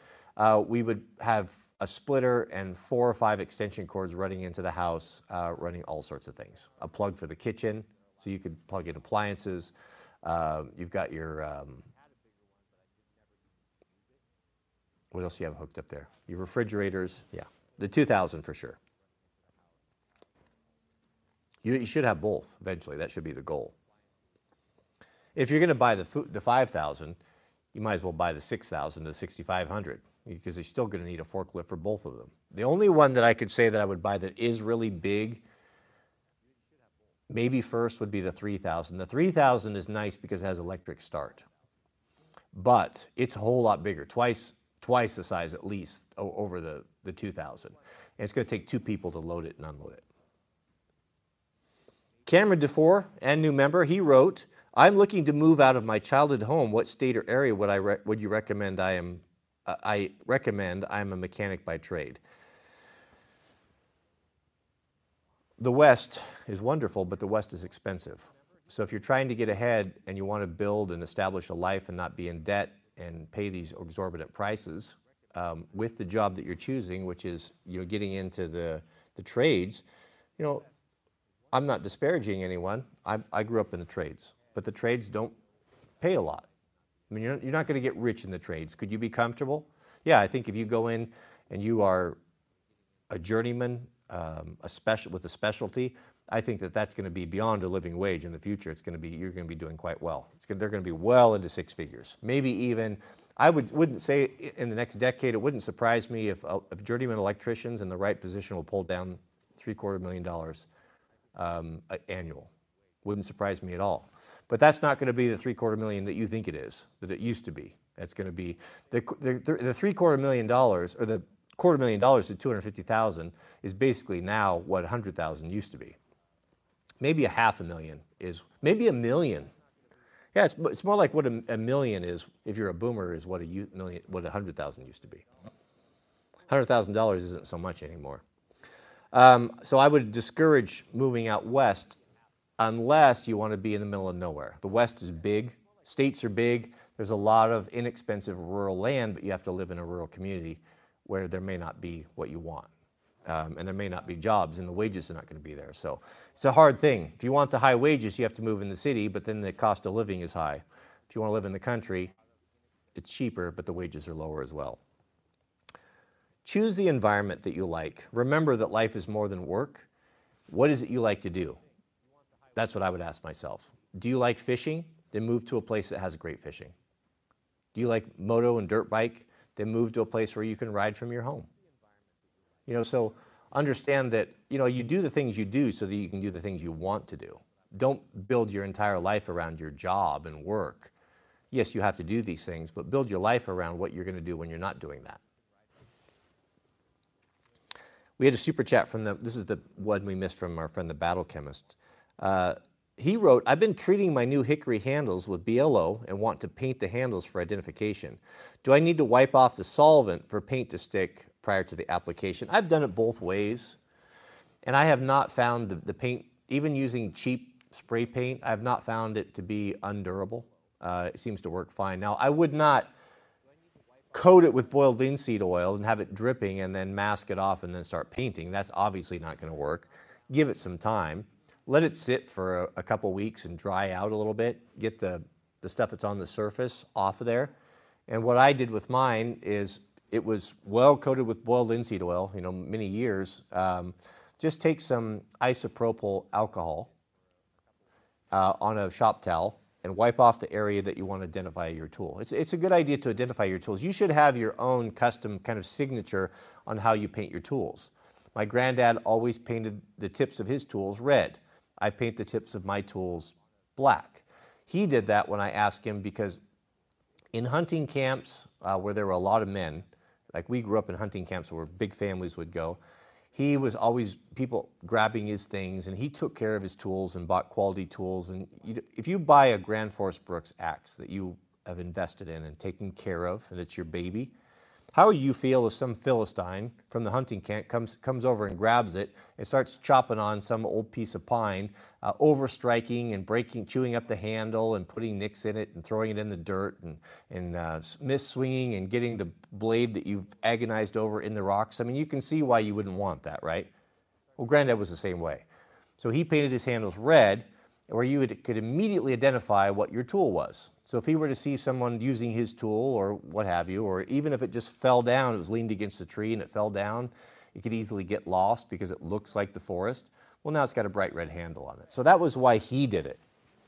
We would have a splitter and 4 or 5 extension cords running into the house, running all sorts of things. A plug for the kitchen, so you could plug in appliances. You've got your, what else do you have hooked up there? Your refrigerators, yeah. The 2000 for sure. You should have both eventually. That should be the goal. If you're going to buy the 5000, you might as well buy the 6000, the 6500, because you're still going to need a forklift for both of them. The only one that I could say that I would buy that is really big, maybe first, would be the 3000. The 3000 is nice because it has electric start, but it's a whole lot bigger, twice the size at least over the 2000. And it's going to take 2 people to load it and unload it. Cameron DeFore, and new member, he wrote, I'm looking to move out of my childhood home. What state or area would you recommend I am? I recommend I'm a mechanic by trade. The West is wonderful, but the West is expensive. So if you're trying to get ahead and you want to build and establish a life and not be in debt and pay these exorbitant prices with the job that you're choosing, which is getting into the trades, I'm not disparaging anyone. I grew up in the trades, but the trades don't pay a lot. I mean, you're not going to get rich in the trades. Could you be comfortable? Yeah, I think if you go in and you are a journeyman, with a specialty, I think that that's going to be beyond a living wage in the future. It's going to be, you're going to be doing quite well. They're going to be well into six figures. Maybe even, I wouldn't say in the next decade, it wouldn't surprise me if journeyman electricians in the right position will pull down $750,000 annual. Wouldn't surprise me at all. But that's not going to be the $750,000 that you think it is, that it used to be. That's going to be the $750,000 or the $250,000 to $250,000 is basically now what $100,000 used to be. Maybe $500,000 is, maybe $1 million. Yeah, it's more like what a million is, if you're a boomer, is what what $100,000 used to be. $100,000 isn't so much anymore. So I would discourage moving out west unless you want to be in the middle of nowhere. The West is big, states are big, there's a lot of inexpensive rural land, but you have to live in a rural community where there may not be what you want. And there may not be jobs, and the wages are not going to be there. So it's a hard thing. If you want the high wages, you have to move in the city, but then the cost of living is high. If you want to live in the country, it's cheaper, but the wages are lower as well. Choose the environment that you like. Remember that life is more than work. What is it you like to do? That's what I would ask myself. Do you like fishing? Then move to a place that has great fishing. Do you like moto and dirt bike? Then move to a place where you can ride from your home. You know, so understand that, you know, you do the things you do so that you can do the things you want to do. Don't build your entire life around your job and work. Yes, you have to do these things, but build your life around what you're going to do when you're not doing that. We had a super chat from this is the one we missed from our friend the Battle Chemist. He wrote, I've been treating my new hickory handles with BLO and want to paint the handles for identification. Do I need to wipe off the solvent for paint to stick prior to the application? I've done it both ways, and I have not found the paint, even using cheap spray paint, I have not found it to be undurable. It seems to work fine. Now, I would not coat it with boiled linseed oil and have it dripping and then mask it off and then start painting. That's obviously not going to work. Give it some time. Let it sit for a couple weeks and dry out a little bit. Get the stuff that's on the surface off of there. And what I did with mine is it was well coated with boiled linseed oil, you know, many years. Just take some isopropyl alcohol on a shop towel and wipe off the area that you want to identify your tool. It's a good idea to identify your tools. You should have your own custom kind of signature on how you paint your tools. My granddad always painted the tips of his tools red. I paint the tips of my tools black. He did that when I asked him because in hunting camps where there were a lot of men, like we grew up in hunting camps where big families would go, he was always people grabbing his things, and he took care of his tools and bought quality tools. And if you buy a Grand Forest Brooks axe that you have invested in and taken care of, and it's your baby, how would you feel if some Philistine from the hunting camp comes over and grabs it and starts chopping on some old piece of pine, overstriking and breaking, chewing up the handle and putting nicks in it and throwing it in the dirt and miss-swinging and getting the blade that you've agonized over in the rocks? I mean, you can see why you wouldn't want that, right? Well, Granddad was the same way. So he painted his handles red, where you could immediately identify what your tool was. So if he were to see someone using his tool or what have you, or even if it just fell down, it was leaned against a tree and it fell down, it could easily get lost because it looks like the forest. Well, now it's got a bright red handle on it. So that was why he did it.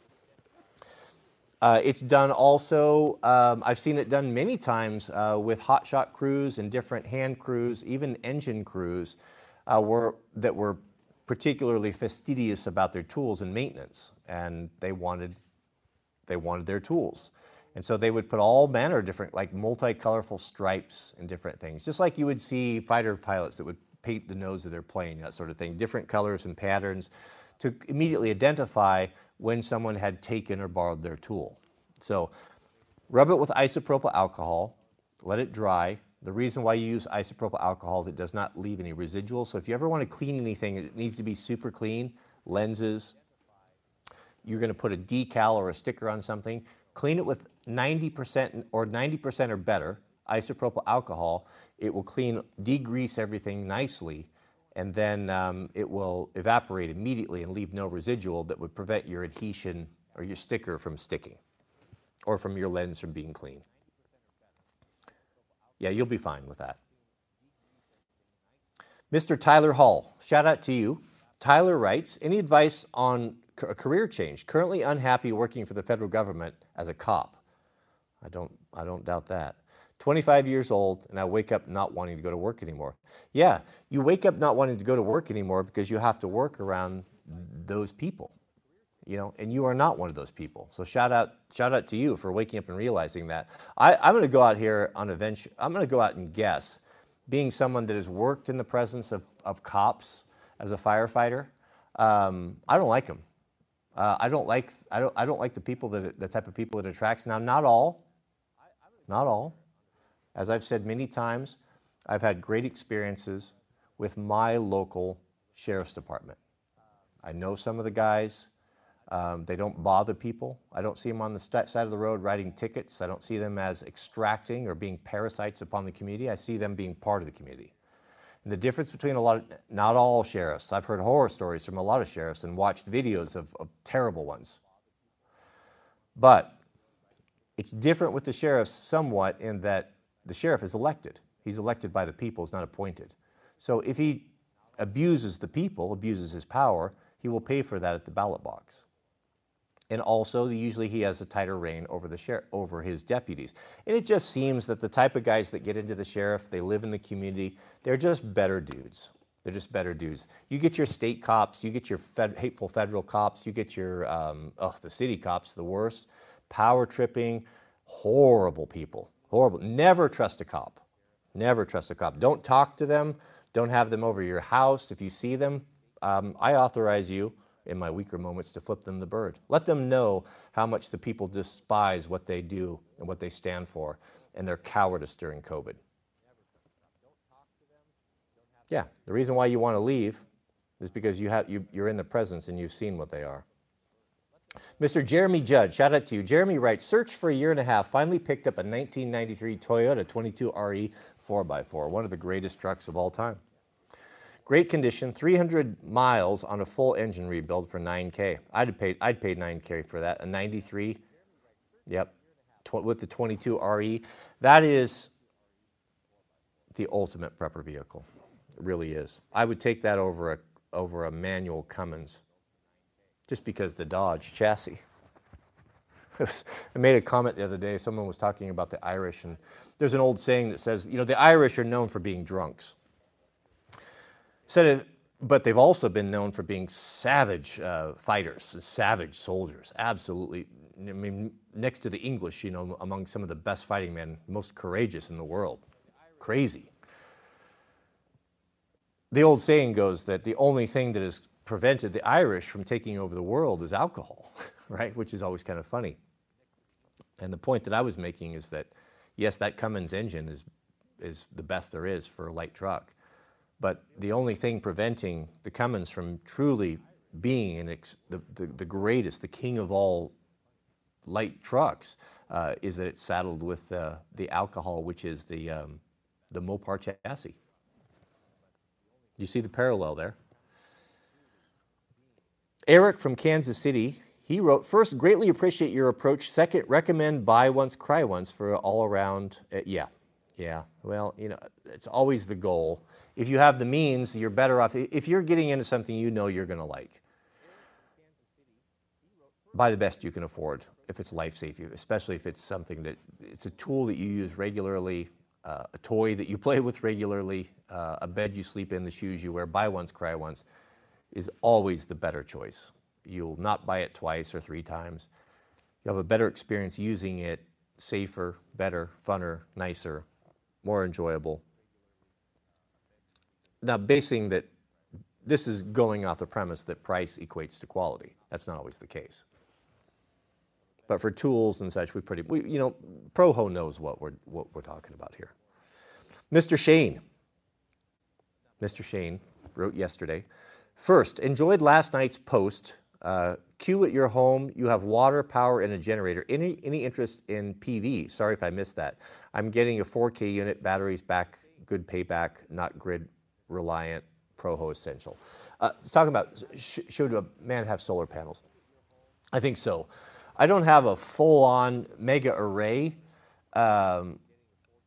It's done also, I've seen it done many times with hotshot crews and different hand crews, even engine crews that were particularly fastidious about their tools and maintenance, and they wanted their tools. And so they would put all manner of different, like multi-colorful stripes and different things, just like you would see fighter pilots that would paint the nose of their plane, that sort of thing, different colors and patterns to immediately identify when someone had taken or borrowed their tool. So rub it with isopropyl alcohol, let it dry. The reason why you use isopropyl alcohol is it does not leave any residual. So if you ever want to clean anything, it needs to be super clean. Lenses, you're going to put a decal or a sticker on something, clean it with 90% or 90% or better isopropyl alcohol. It will clean, degrease everything nicely, and then it will evaporate immediately and leave no residual that would prevent your adhesion or your sticker from sticking or from your lens from being clean. Yeah, you'll be fine with that. Mr. Tyler Hall, shout out to you. Tyler writes, any advice on a career change? Currently unhappy working for the federal government as a cop. I don't doubt that. 25 years old, and I wake up not wanting to go to work anymore. Yeah, you wake up not wanting to go to work anymore because you have to work around those people, you know, and you are not one of those people. So shout out to you for waking up and realizing that. I'm going to go out here on a venture. I'm going to go out and guess, being someone that has worked in the presence of cops as a firefighter, I don't like them. I don't like the people the type of people it attracts. Now, not all. As I've said many times, I've had great experiences with my local sheriff's department. I know some of the guys. They don't bother people. I don't see them on the side of the road writing tickets. I don't see them as extracting or being parasites upon the community. I see them being part of the community. And the difference between not all sheriffs, I've heard horror stories from a lot of sheriffs and watched videos of terrible ones. But it's different with the sheriffs somewhat in that the sheriff is elected. He's elected by the people, he's not appointed. So if he abuses the people, abuses his power, he will pay for that at the ballot box. And also, usually he has a tighter reign over his deputies. And it just seems that the type of guys that get into the sheriff, they live in the community, they're just better dudes. They're just better dudes. You get your state cops, you get your hateful federal cops, you get your, the city cops, the worst. Power tripping, horrible people, horrible. Never trust a cop. Never trust a cop. Don't talk to them. Don't have them over your house. If you see them, I authorize you in my weaker moments to flip them the bird. Let them know how much the people despise what they do and what they stand for and their cowardice during COVID. Yeah, the reason why you want to leave is because you're in the presence and you've seen what they are. Mr. Jeremy Judge, shout out to you. Jeremy writes, searched for a year and a half, finally picked up a 1993 Toyota 22RE 4x4, one of the greatest trucks of all time. Great condition, 300 miles on a full engine rebuild for $9K. I'd paid $9K for that, a 93, yep, with the 22RE. That is the ultimate prepper vehicle. It really is. I would take that over a manual Cummins, just because the Dodge chassis. I made a comment the other day, someone was talking about the Irish, and there's an old saying that says, you know, the Irish are known for being drunks. But they've also been known for being savage fighters, savage soldiers, absolutely. I mean, next to the English, you know, among some of the best fighting men, most courageous in the world. Crazy. The old saying goes that the only thing that has prevented the Irish from taking over the world is alcohol, right? Which is always kind of funny. And the point that I was making is that, yes, that Cummins engine is the best there is for a light truck. But the only thing preventing the Cummins from truly being the greatest, the king of all light trucks, is that it's saddled with the alcohol, which is the Mopar chassis. You see the parallel there? Eric from Kansas City, he wrote, first, greatly appreciate your approach. Second, recommend buy once, cry once for all around. Yeah. Well, you know, it's always the goal. If you have the means, you're better off. If you're getting into something you know you're going to like, buy the best you can afford if it's life-saving, especially if it's something that, it's a tool that you use regularly, a toy that you play with regularly, a bed you sleep in, the shoes you wear. Buy once, cry once is always the better choice. You'll not buy it twice or three times. You'll have a better experience using it, safer, better, funner, nicer, more enjoyable. Now, basing that, this is going off the premise that price equates to quality. That's not always the case. But for tools and such, you know, Proho knows what we're talking about here. Mr. Shane wrote yesterday, first, enjoyed last night's post. Q at your home, you have water, power, and a generator. Any interest in PV? Sorry if I missed that. I'm getting a 4K unit, batteries back, good payback, not grid reliant, Proho essential. It's talking about, should a man have solar panels? I think so. I don't have a full-on mega array. I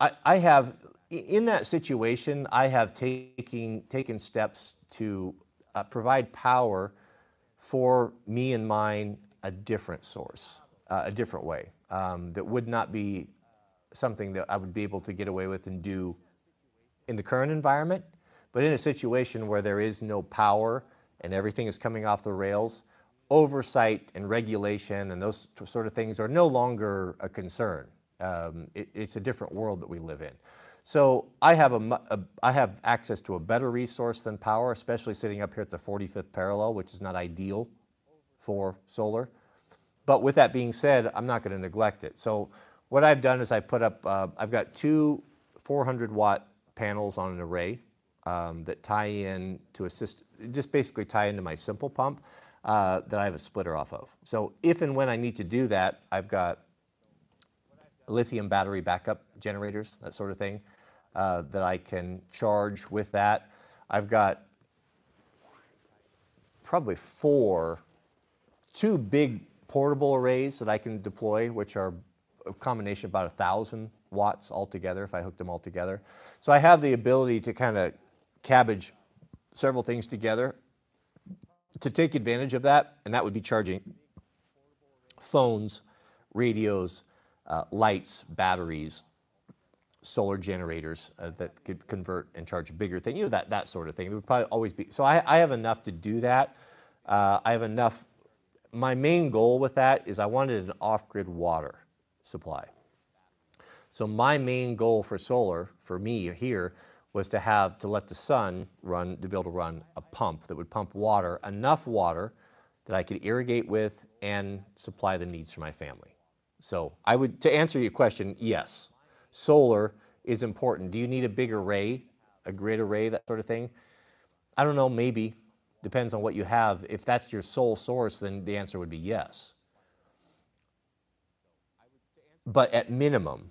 have, in that situation, I have taken steps to provide power for me and mine a different source, a different way, that would not be something that I would be able to get away with and do in the current environment. But in a situation where there is no power and everything is coming off the rails, oversight and regulation and those sort of things are no longer a concern. It's a different world that we live in. So I have access to a better resource than power, especially sitting up here at the 45th parallel, which is not ideal for solar. But with that being said, I'm not going to neglect it. So what I've done is I put up, I've got two 400-watt panels on an array that tie in to just basically tie into my simple pump that I have a splitter off of. So if and when I need to do that, I've got lithium battery backup generators, that sort of thing, that I can charge with that. I've got probably two big portable arrays that I can deploy, which are a combination of about 1,000 watts altogether if I hooked them all together. So I have the ability to kind of cabbage several things together to take advantage of that, and that would be charging phones, radios, lights, batteries, solar generators that could convert and charge bigger things, that sort of thing. It would probably always be, so I have enough to do that. I have enough. My main goal with that is I wanted an off-grid water supply. So my main goal for solar, for me here, was to let the sun run, to be able to run a pump that would pump water, enough water that I could irrigate with and supply the needs for my family. So to answer your question, yes, solar is important. Do you need a big array, a grid array, that sort of thing? I don't know, maybe. Depends on what you have. If that's your sole source, then the answer would be yes. But at minimum,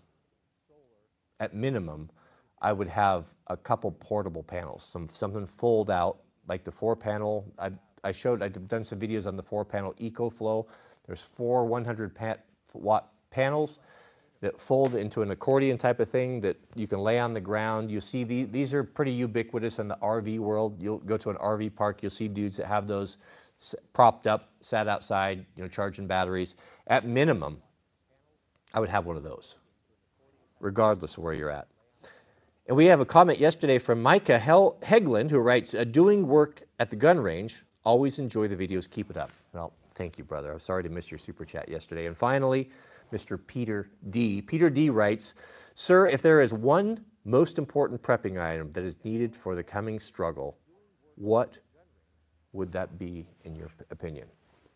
I would have a couple portable panels, something fold out, like the 4-panel. I've done some videos on the 4-panel EcoFlow. There's 4 100-watt panels that fold into an accordion type of thing that you can lay on the ground. You see these are pretty ubiquitous in the RV world. You'll go to an RV park, you'll see dudes that have those propped up, sat outside, charging batteries. At minimum, I would have one of those, regardless of where you're at. And we have a comment yesterday from Micah Hegland, who writes, doing work at the gun range, always enjoy the videos, keep it up. Well, thank you, brother. I'm sorry to miss your super chat yesterday. And finally, Mr. Peter D. Peter D writes, sir, if there is one most important prepping item that is needed for the coming struggle, what would that be in your opinion?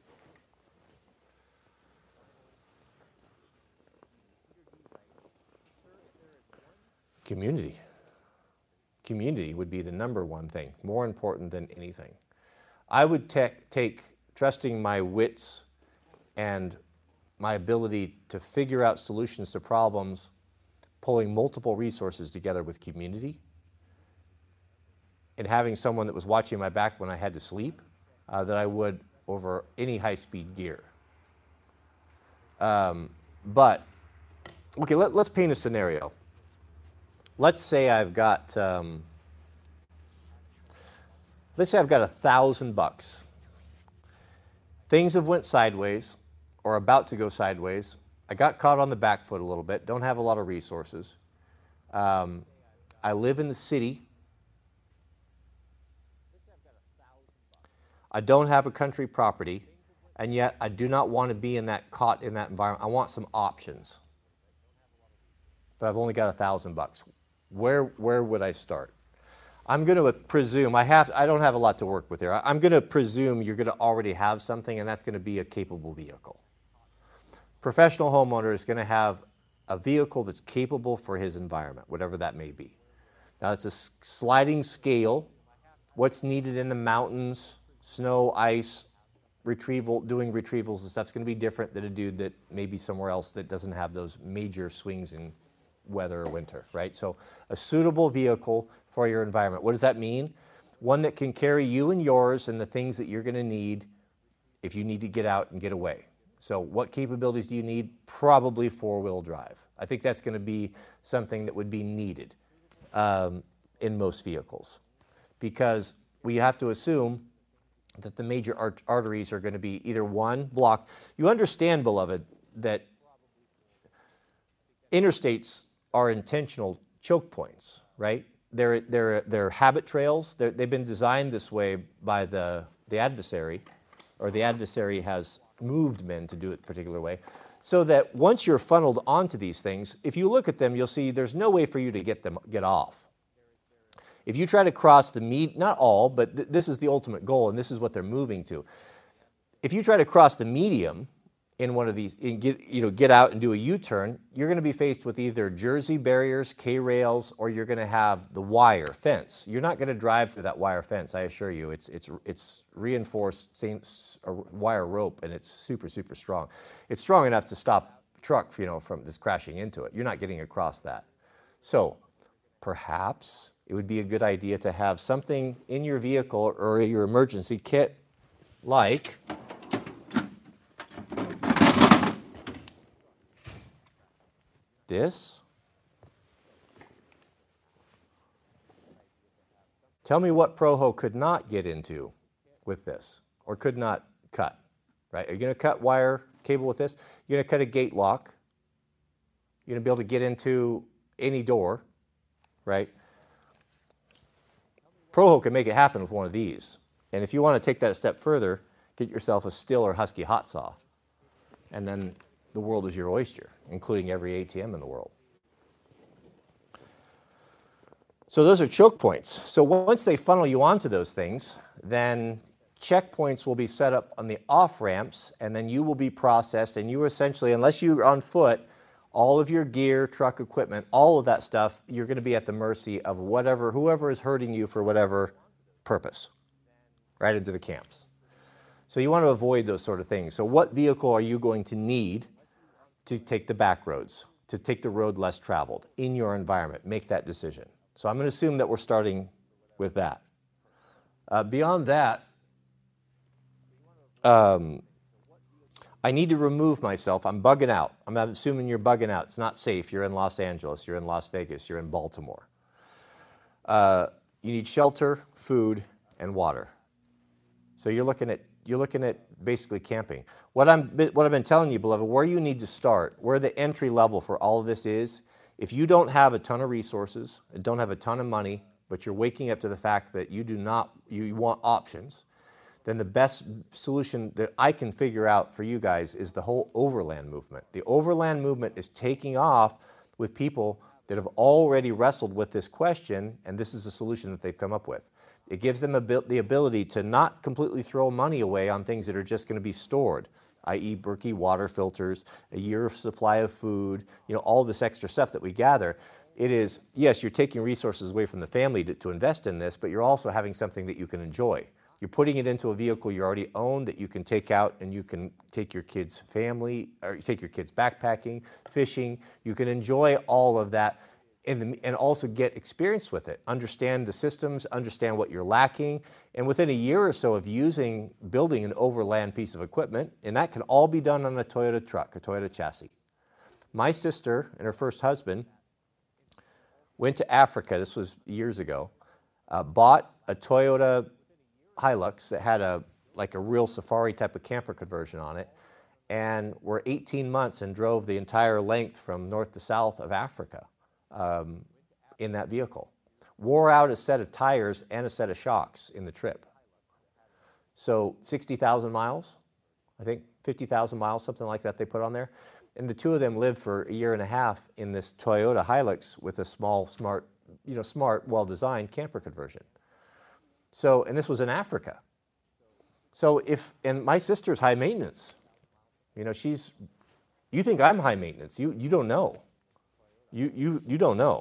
Community. Community would be the number one thing, more important than anything. I would take trusting my wits and my ability to figure out solutions to problems, pulling multiple resources together with community, and having someone that was watching my back when I had to sleep, that I would over any high-speed gear. But, okay, let's paint a scenario. Let's say I've got, $1,000. Things have went sideways or about to go sideways. I got caught on the back foot a little bit, don't have a lot of resources. I live in the city. I don't have a country property, and yet I do not want to be caught in that environment. I want some options. But I've only got $1,000. Where would I start? I'm going to presume, I don't have a lot to work with here. I'm going to presume you're going to already have something, and that's going to be a capable vehicle. Professional homeowner is going to have a vehicle that's capable for his environment, whatever that may be. Now, it's a sliding scale. What's needed in the mountains, snow, ice, doing retrievals and stuff is going to be different than a dude that may be somewhere else that doesn't have those major swings in weather or winter, right? So a suitable vehicle for your environment. What does that mean? One that can carry you and yours and the things that you're going to need if you need to get out and get away. So what capabilities do you need? Probably 4-wheel drive. I think that's going to be something that would be needed in most vehicles, because we have to assume that the major arteries are going to be either one, blocked. You understand, beloved, that interstates are intentional choke points, right? They're habit trails. They've been designed this way by the adversary, or the adversary has moved men to do it a particular way, so that once you're funneled onto these things, if you look at them, you'll see there's no way for you to get off. If you try to cross the not all, but this is the ultimate goal, and this is what they're moving to. If you try to cross the medium in one of these, and get out and do a U-turn, you're going to be faced with either Jersey barriers, K-rails, or you're going to have the wire fence. You're not going to drive through that wire fence, I assure you. It's reinforced wire rope, and it's super, super strong. It's strong enough to stop a truck, from this crashing into it. You're not getting across that. So perhaps it would be a good idea to have something in your vehicle or your emergency kit like this. Tell me what Proho could not get into with this, or could not cut, right? Are you going to cut wire cable with this? You're going to cut a gate lock. You're going to be able to get into any door, right? Proho can make it happen with one of these. And if you want to take that a step further, get yourself a Stihl or Husky hot saw. And then the world is your oyster, including every ATM in the world. So those are choke points. So once they funnel you onto those things, then checkpoints will be set up on the off-ramps, and then you will be processed, and you essentially, unless you're on foot, all of your gear, truck equipment, all of that stuff, you're going to be at the mercy of whoever is hurting you for whatever purpose, right into the camps. So you want to avoid those sort of things. So what vehicle are you going to need to take the back roads, to take the road less traveled in your environment? Make that decision. So I'm going to assume that we're starting with that. Beyond that, I need to remove myself. I'm bugging out. I'm assuming you're bugging out. It's not safe. You're in Los Angeles. You're in Las Vegas. You're in Baltimore. You need shelter, food, and water. So you're looking at basically camping. What I've been telling you, beloved, where you need to start, where the entry level for all of this is, if you don't have a ton of resources and don't have a ton of money, but you're waking up to the fact that you want options, then the best solution that I can figure out for you guys is the whole overland movement. The overland movement is taking off with people that have already wrestled with this question, and this is the solution that they've come up with. It gives them the ability to not completely throw money away on things that are just going to be stored, i.e. Berkey water filters, a year of supply of food, all this extra stuff that we gather. It is, yes, you're taking resources away from the family to invest in this, but you're also having something that you can enjoy. You're putting it into a vehicle you already own that you can take out, and you can take your kids' family, or take your kids backpacking, fishing. You can enjoy all of that and also get experience with it. Understand the systems, understand what you're lacking, and within a year or so of building an overland piece of equipment, and that can all be done on a Toyota truck, a Toyota chassis. My sister and her first husband went to Africa, this was years ago, bought a Toyota Hilux that had a real safari type of camper conversion on it, and were 18 months and drove the entire length from north to south of Africa in that vehicle. Wore out a set of tires and a set of shocks in the trip. So 60,000 miles, I think 50,000 miles, something like that they put on there. And the two of them lived for a year and a half in this Toyota Hilux with a small, smart, well-designed camper conversion. So, and this was in Africa. So and my sister's high maintenance. You think I'm high maintenance. You don't know. You don't know.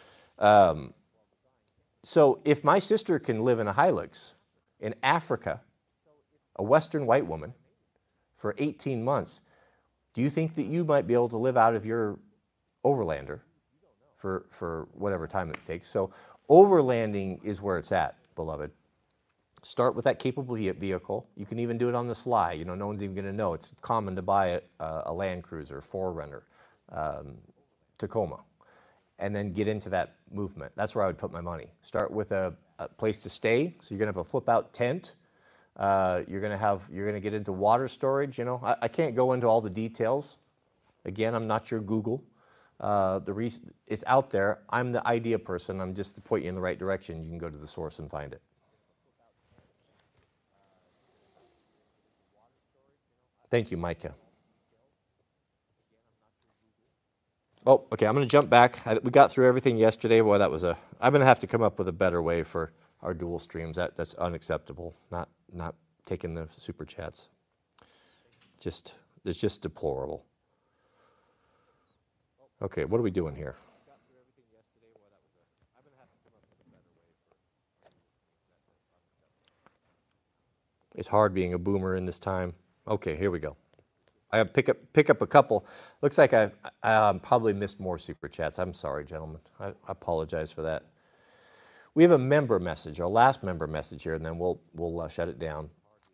So if my sister can live in a Hilux in Africa, a Western white woman, for 18 months, do you think that you might be able to live out of your overlander for whatever time it takes? So overlanding is where it's at, beloved. Start with that capable vehicle. You can even do it on the sly. No one's even going to know. It's common to buy a Land Cruiser, 4Runner, Tacoma, and then get into that movement. That's where I would put my money. Start with a place to stay. So you're going to have a flip-out tent. You're going to get into water storage. You know, I can't go into all the details. Again, I'm not your Google. The reason it's out there. I'm the idea person. I'm just to point you in the right direction. You can go to the source and find it. Thank you, Micah. Oh, okay, I'm going to jump back. We got through everything yesterday. Boy, I'm going to have to come up with a better way for our dual streams. That's unacceptable. Not taking the super chats. It's just deplorable. Okay, what are we doing here? It's hard being a boomer in this time. Okay, here we go. I pick up a couple. Looks like I probably missed more super chats. I'm sorry, gentlemen. I apologize for that. We have a member message, our last member message here, and then we'll shut it down.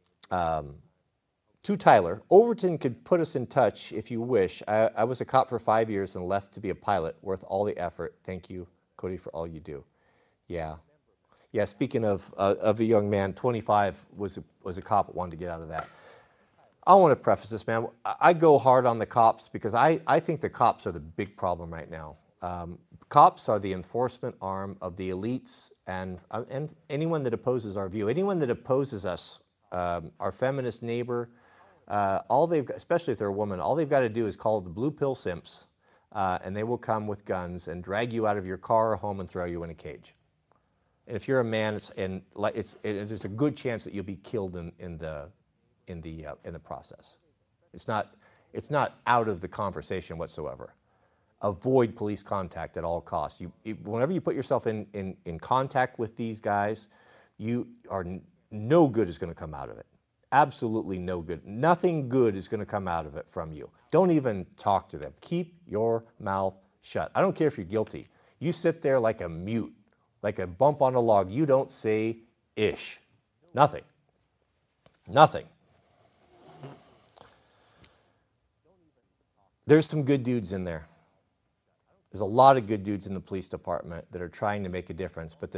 To Tyler, Overton could put us in touch if you wish. I was a cop for 5 years and left to be a pilot. Worth all the effort. Thank you, Cody, for all you do. Yeah. Yeah, speaking of a young man, 25, was a cop that wanted to get out of that. I want to preface this, man. I go hard on the cops because I think the cops are the big problem right now. Cops are the enforcement arm of the elites and anyone that opposes our view. Anyone that opposes us, our feminist neighbor, all they've got, especially if they're a woman, all they've got to do is call the blue pill simps, and they will come with guns and drag you out of your car or home and throw you in a cage. And if you're a man, there's a good chance that you'll be killed in the process. It's not out of the conversation whatsoever. Avoid police contact at all costs. Whenever you put yourself in contact with these guys, no good is going to come out of it. Absolutely no good. Nothing good is going to come out of it from you. Don't even talk to them. Keep your mouth shut. I don't care if you're guilty. You sit there like a mute, like a bump on a log. You don't say ish. Nothing. Nothing. There's some good dudes in there. There's a lot of good dudes in the police department that are trying to make a difference, but the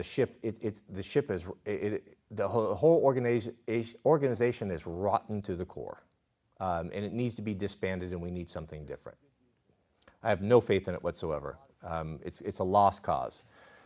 whole organization is rotten to the core, and it needs to be disbanded, and we need something different. I have no faith in it whatsoever. It's a lost cause.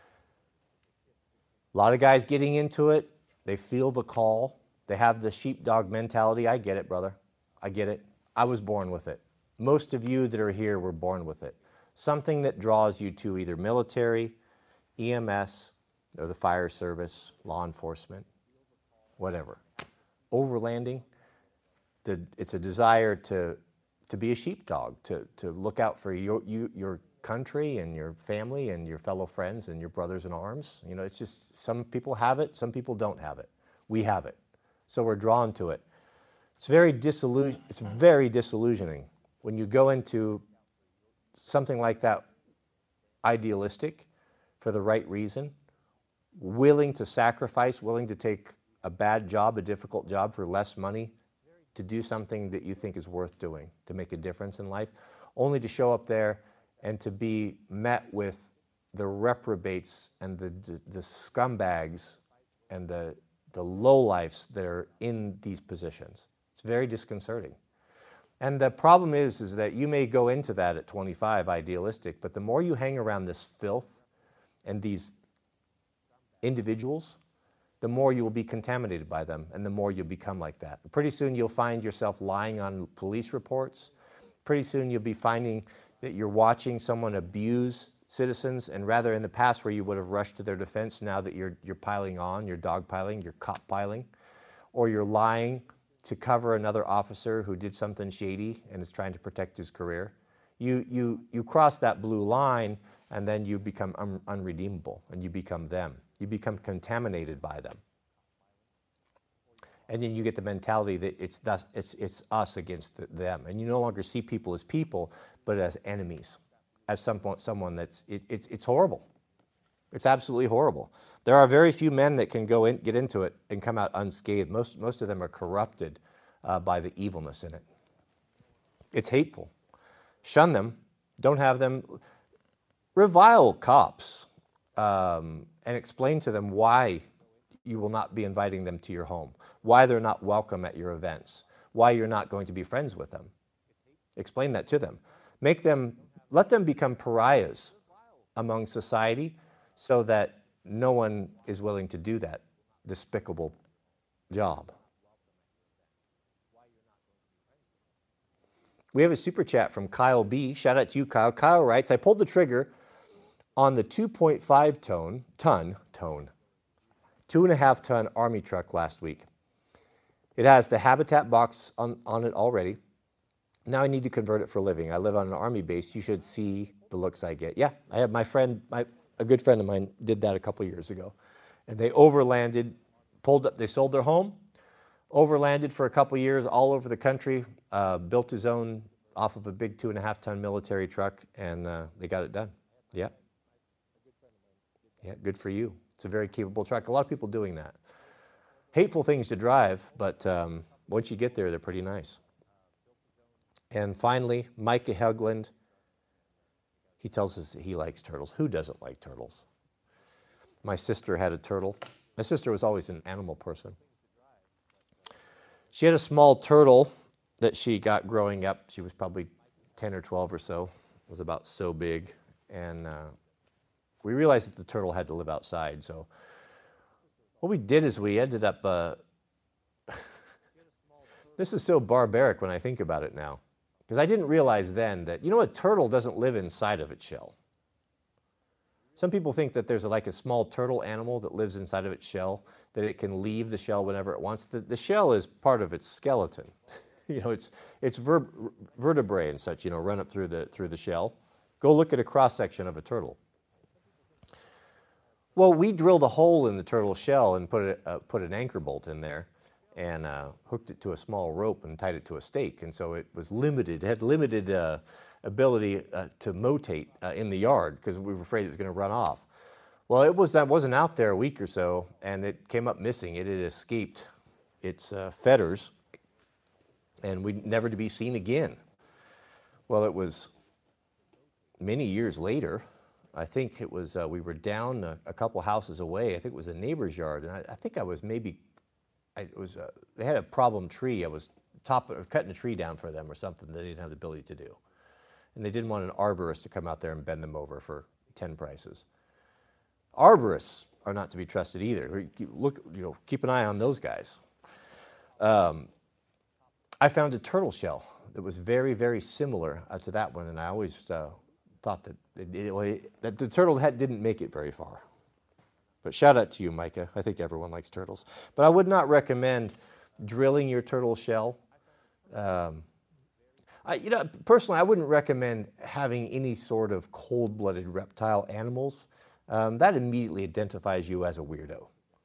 A lot of guys getting into it, they feel the call. They have the sheepdog mentality. I get it, brother. I get it. I was born with it. Most of you that are here were born with it. Something that draws you to either military, EMS, or the fire service, law enforcement, whatever. Overlanding, it's a desire to be a sheepdog, to look out for your country and your family and your fellow friends and your brothers in arms. You know, it's just some people have it, some people don't have it. We have it. So we're drawn to it. It's very disillusioning when you go into something like that, idealistic, for the right reason, willing to sacrifice, willing to take a bad job, a difficult job for less money, to do something that you think is worth doing, to make a difference in life, only to show up there and to be met with the reprobates and the scumbags and the lowlifes that are in these positions. It's very disconcerting. And the problem is that you may go into that at 25, idealistic, but the more you hang around this filth and these individuals, the more you will be contaminated by them, and the more you'll become like that. Pretty soon you'll find yourself lying on police reports. Pretty soon you'll be finding that you're watching someone abuse citizens, and rather in the past where you would have rushed to their defense, now that you're piling on, you're dogpiling, you're cop piling, or you're lying to cover another officer who did something shady and is trying to protect his career. You cross that blue line, and then you become unredeemable, and you become them. You become contaminated by them. And then you get the mentality that it's us against them. And you no longer see people as people, but as enemies, as someone that's, it's horrible. It's absolutely horrible. There are very few men that can get into it and come out unscathed. Most of them are corrupted by the evilness in it. It's hateful. Shun them. Don't have them. Revile cops and explain to them why you will not be inviting them to your home, why they're not welcome at your events, why you're not going to be friends with them. Explain that to them. Let them become pariahs among society so that no one is willing to do that despicable job. We have a super chat from Kyle B. Shout out to you, Kyle. Kyle writes, I pulled the trigger on the 2.5 ton, 2.5 ton Army truck last week. It has the Habitat box on it already. Now I need to convert it for a living. I live on an Army base. You should see the looks I get. Yeah, I have a good friend of mine did that a couple years ago. And they overlanded, pulled up, they sold their home, overlanded for a couple years all over the country, built his own off of a big 2.5 ton military truck, and they got it done. Yeah. Yeah, good for you. It's a very capable truck. A lot of people doing that. Hateful things to drive, but once you get there, they're pretty nice. And finally, Micah Hegland, he tells us that he likes turtles. Who doesn't like turtles? My sister had a turtle. My sister was always an animal person. She had a small turtle that she got growing up. She was probably 10 or 12 or so. It was about so big. And we realized that the turtle had to live outside. So what we did is we ended up, this is so barbaric when I think about it now. Because I didn't realize then that, a turtle doesn't live inside of its shell. Some people think that there's like a small turtle animal that lives inside of its shell, that it can leave the shell whenever it wants. The shell is part of its skeleton. It's vertebrae and such, run up through the shell. Go look at a cross-section of a turtle. Well, we drilled a hole in the turtle shell and put an anchor bolt in there and hooked it to a small rope and tied it to a stake. And so it was limited. It had limited ability to motate in the yard because we were afraid it was going to run off. Well, that wasn't out there a week or so, and it came up missing. It had escaped its fetters, and never to be seen again. Well, it was many years later. I think it was, we were down a couple houses away. I think it was a neighbor's yard, and I think I was they had a problem tree. I was cutting a tree down for them or something that they didn't have the ability to do. And they didn't want an arborist to come out there and bend them over for 10 prices. Arborists are not to be trusted either. Keep an eye on those guys. I found a turtle shell that was very, very similar to that one, and I always thought that the turtle didn't make it very far. But shout out to you, Micah. I think everyone likes turtles. But I would not recommend drilling your turtle shell. Personally, I wouldn't recommend having any sort of cold-blooded reptile animals. That immediately identifies you as a weirdo.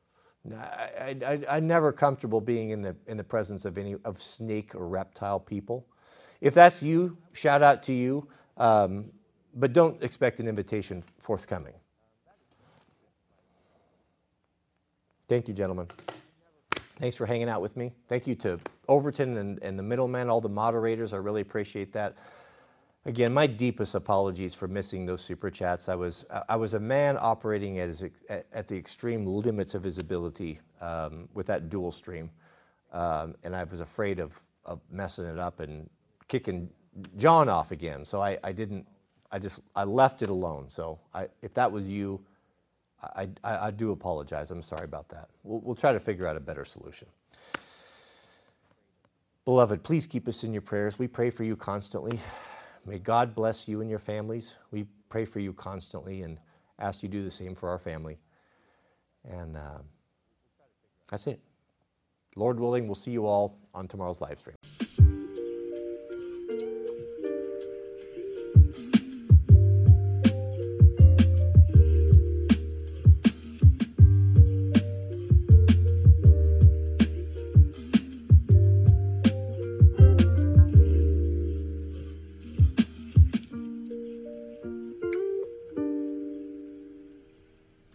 I'm never comfortable being in the presence of snake or reptile people. If that's you, shout out to you. But don't expect an invitation forthcoming. Thank you, gentlemen. Thanks for hanging out with me. Thank you to Overton and the middlemen, all the moderators. I really appreciate that. Again, my deepest apologies for missing those super chats. I was a man operating at the extreme limits of his ability with that dual stream, and I was afraid of messing it up and kicking John off again. So I left it alone. So if that was you, I do apologize. I'm sorry about that. We'll try to figure out a better solution. Beloved, please keep us in your prayers. We pray for you constantly. May God bless you and your families. We pray for you constantly and ask you to do the same for our family. And that's it. Lord willing, we'll see you all on tomorrow's live stream.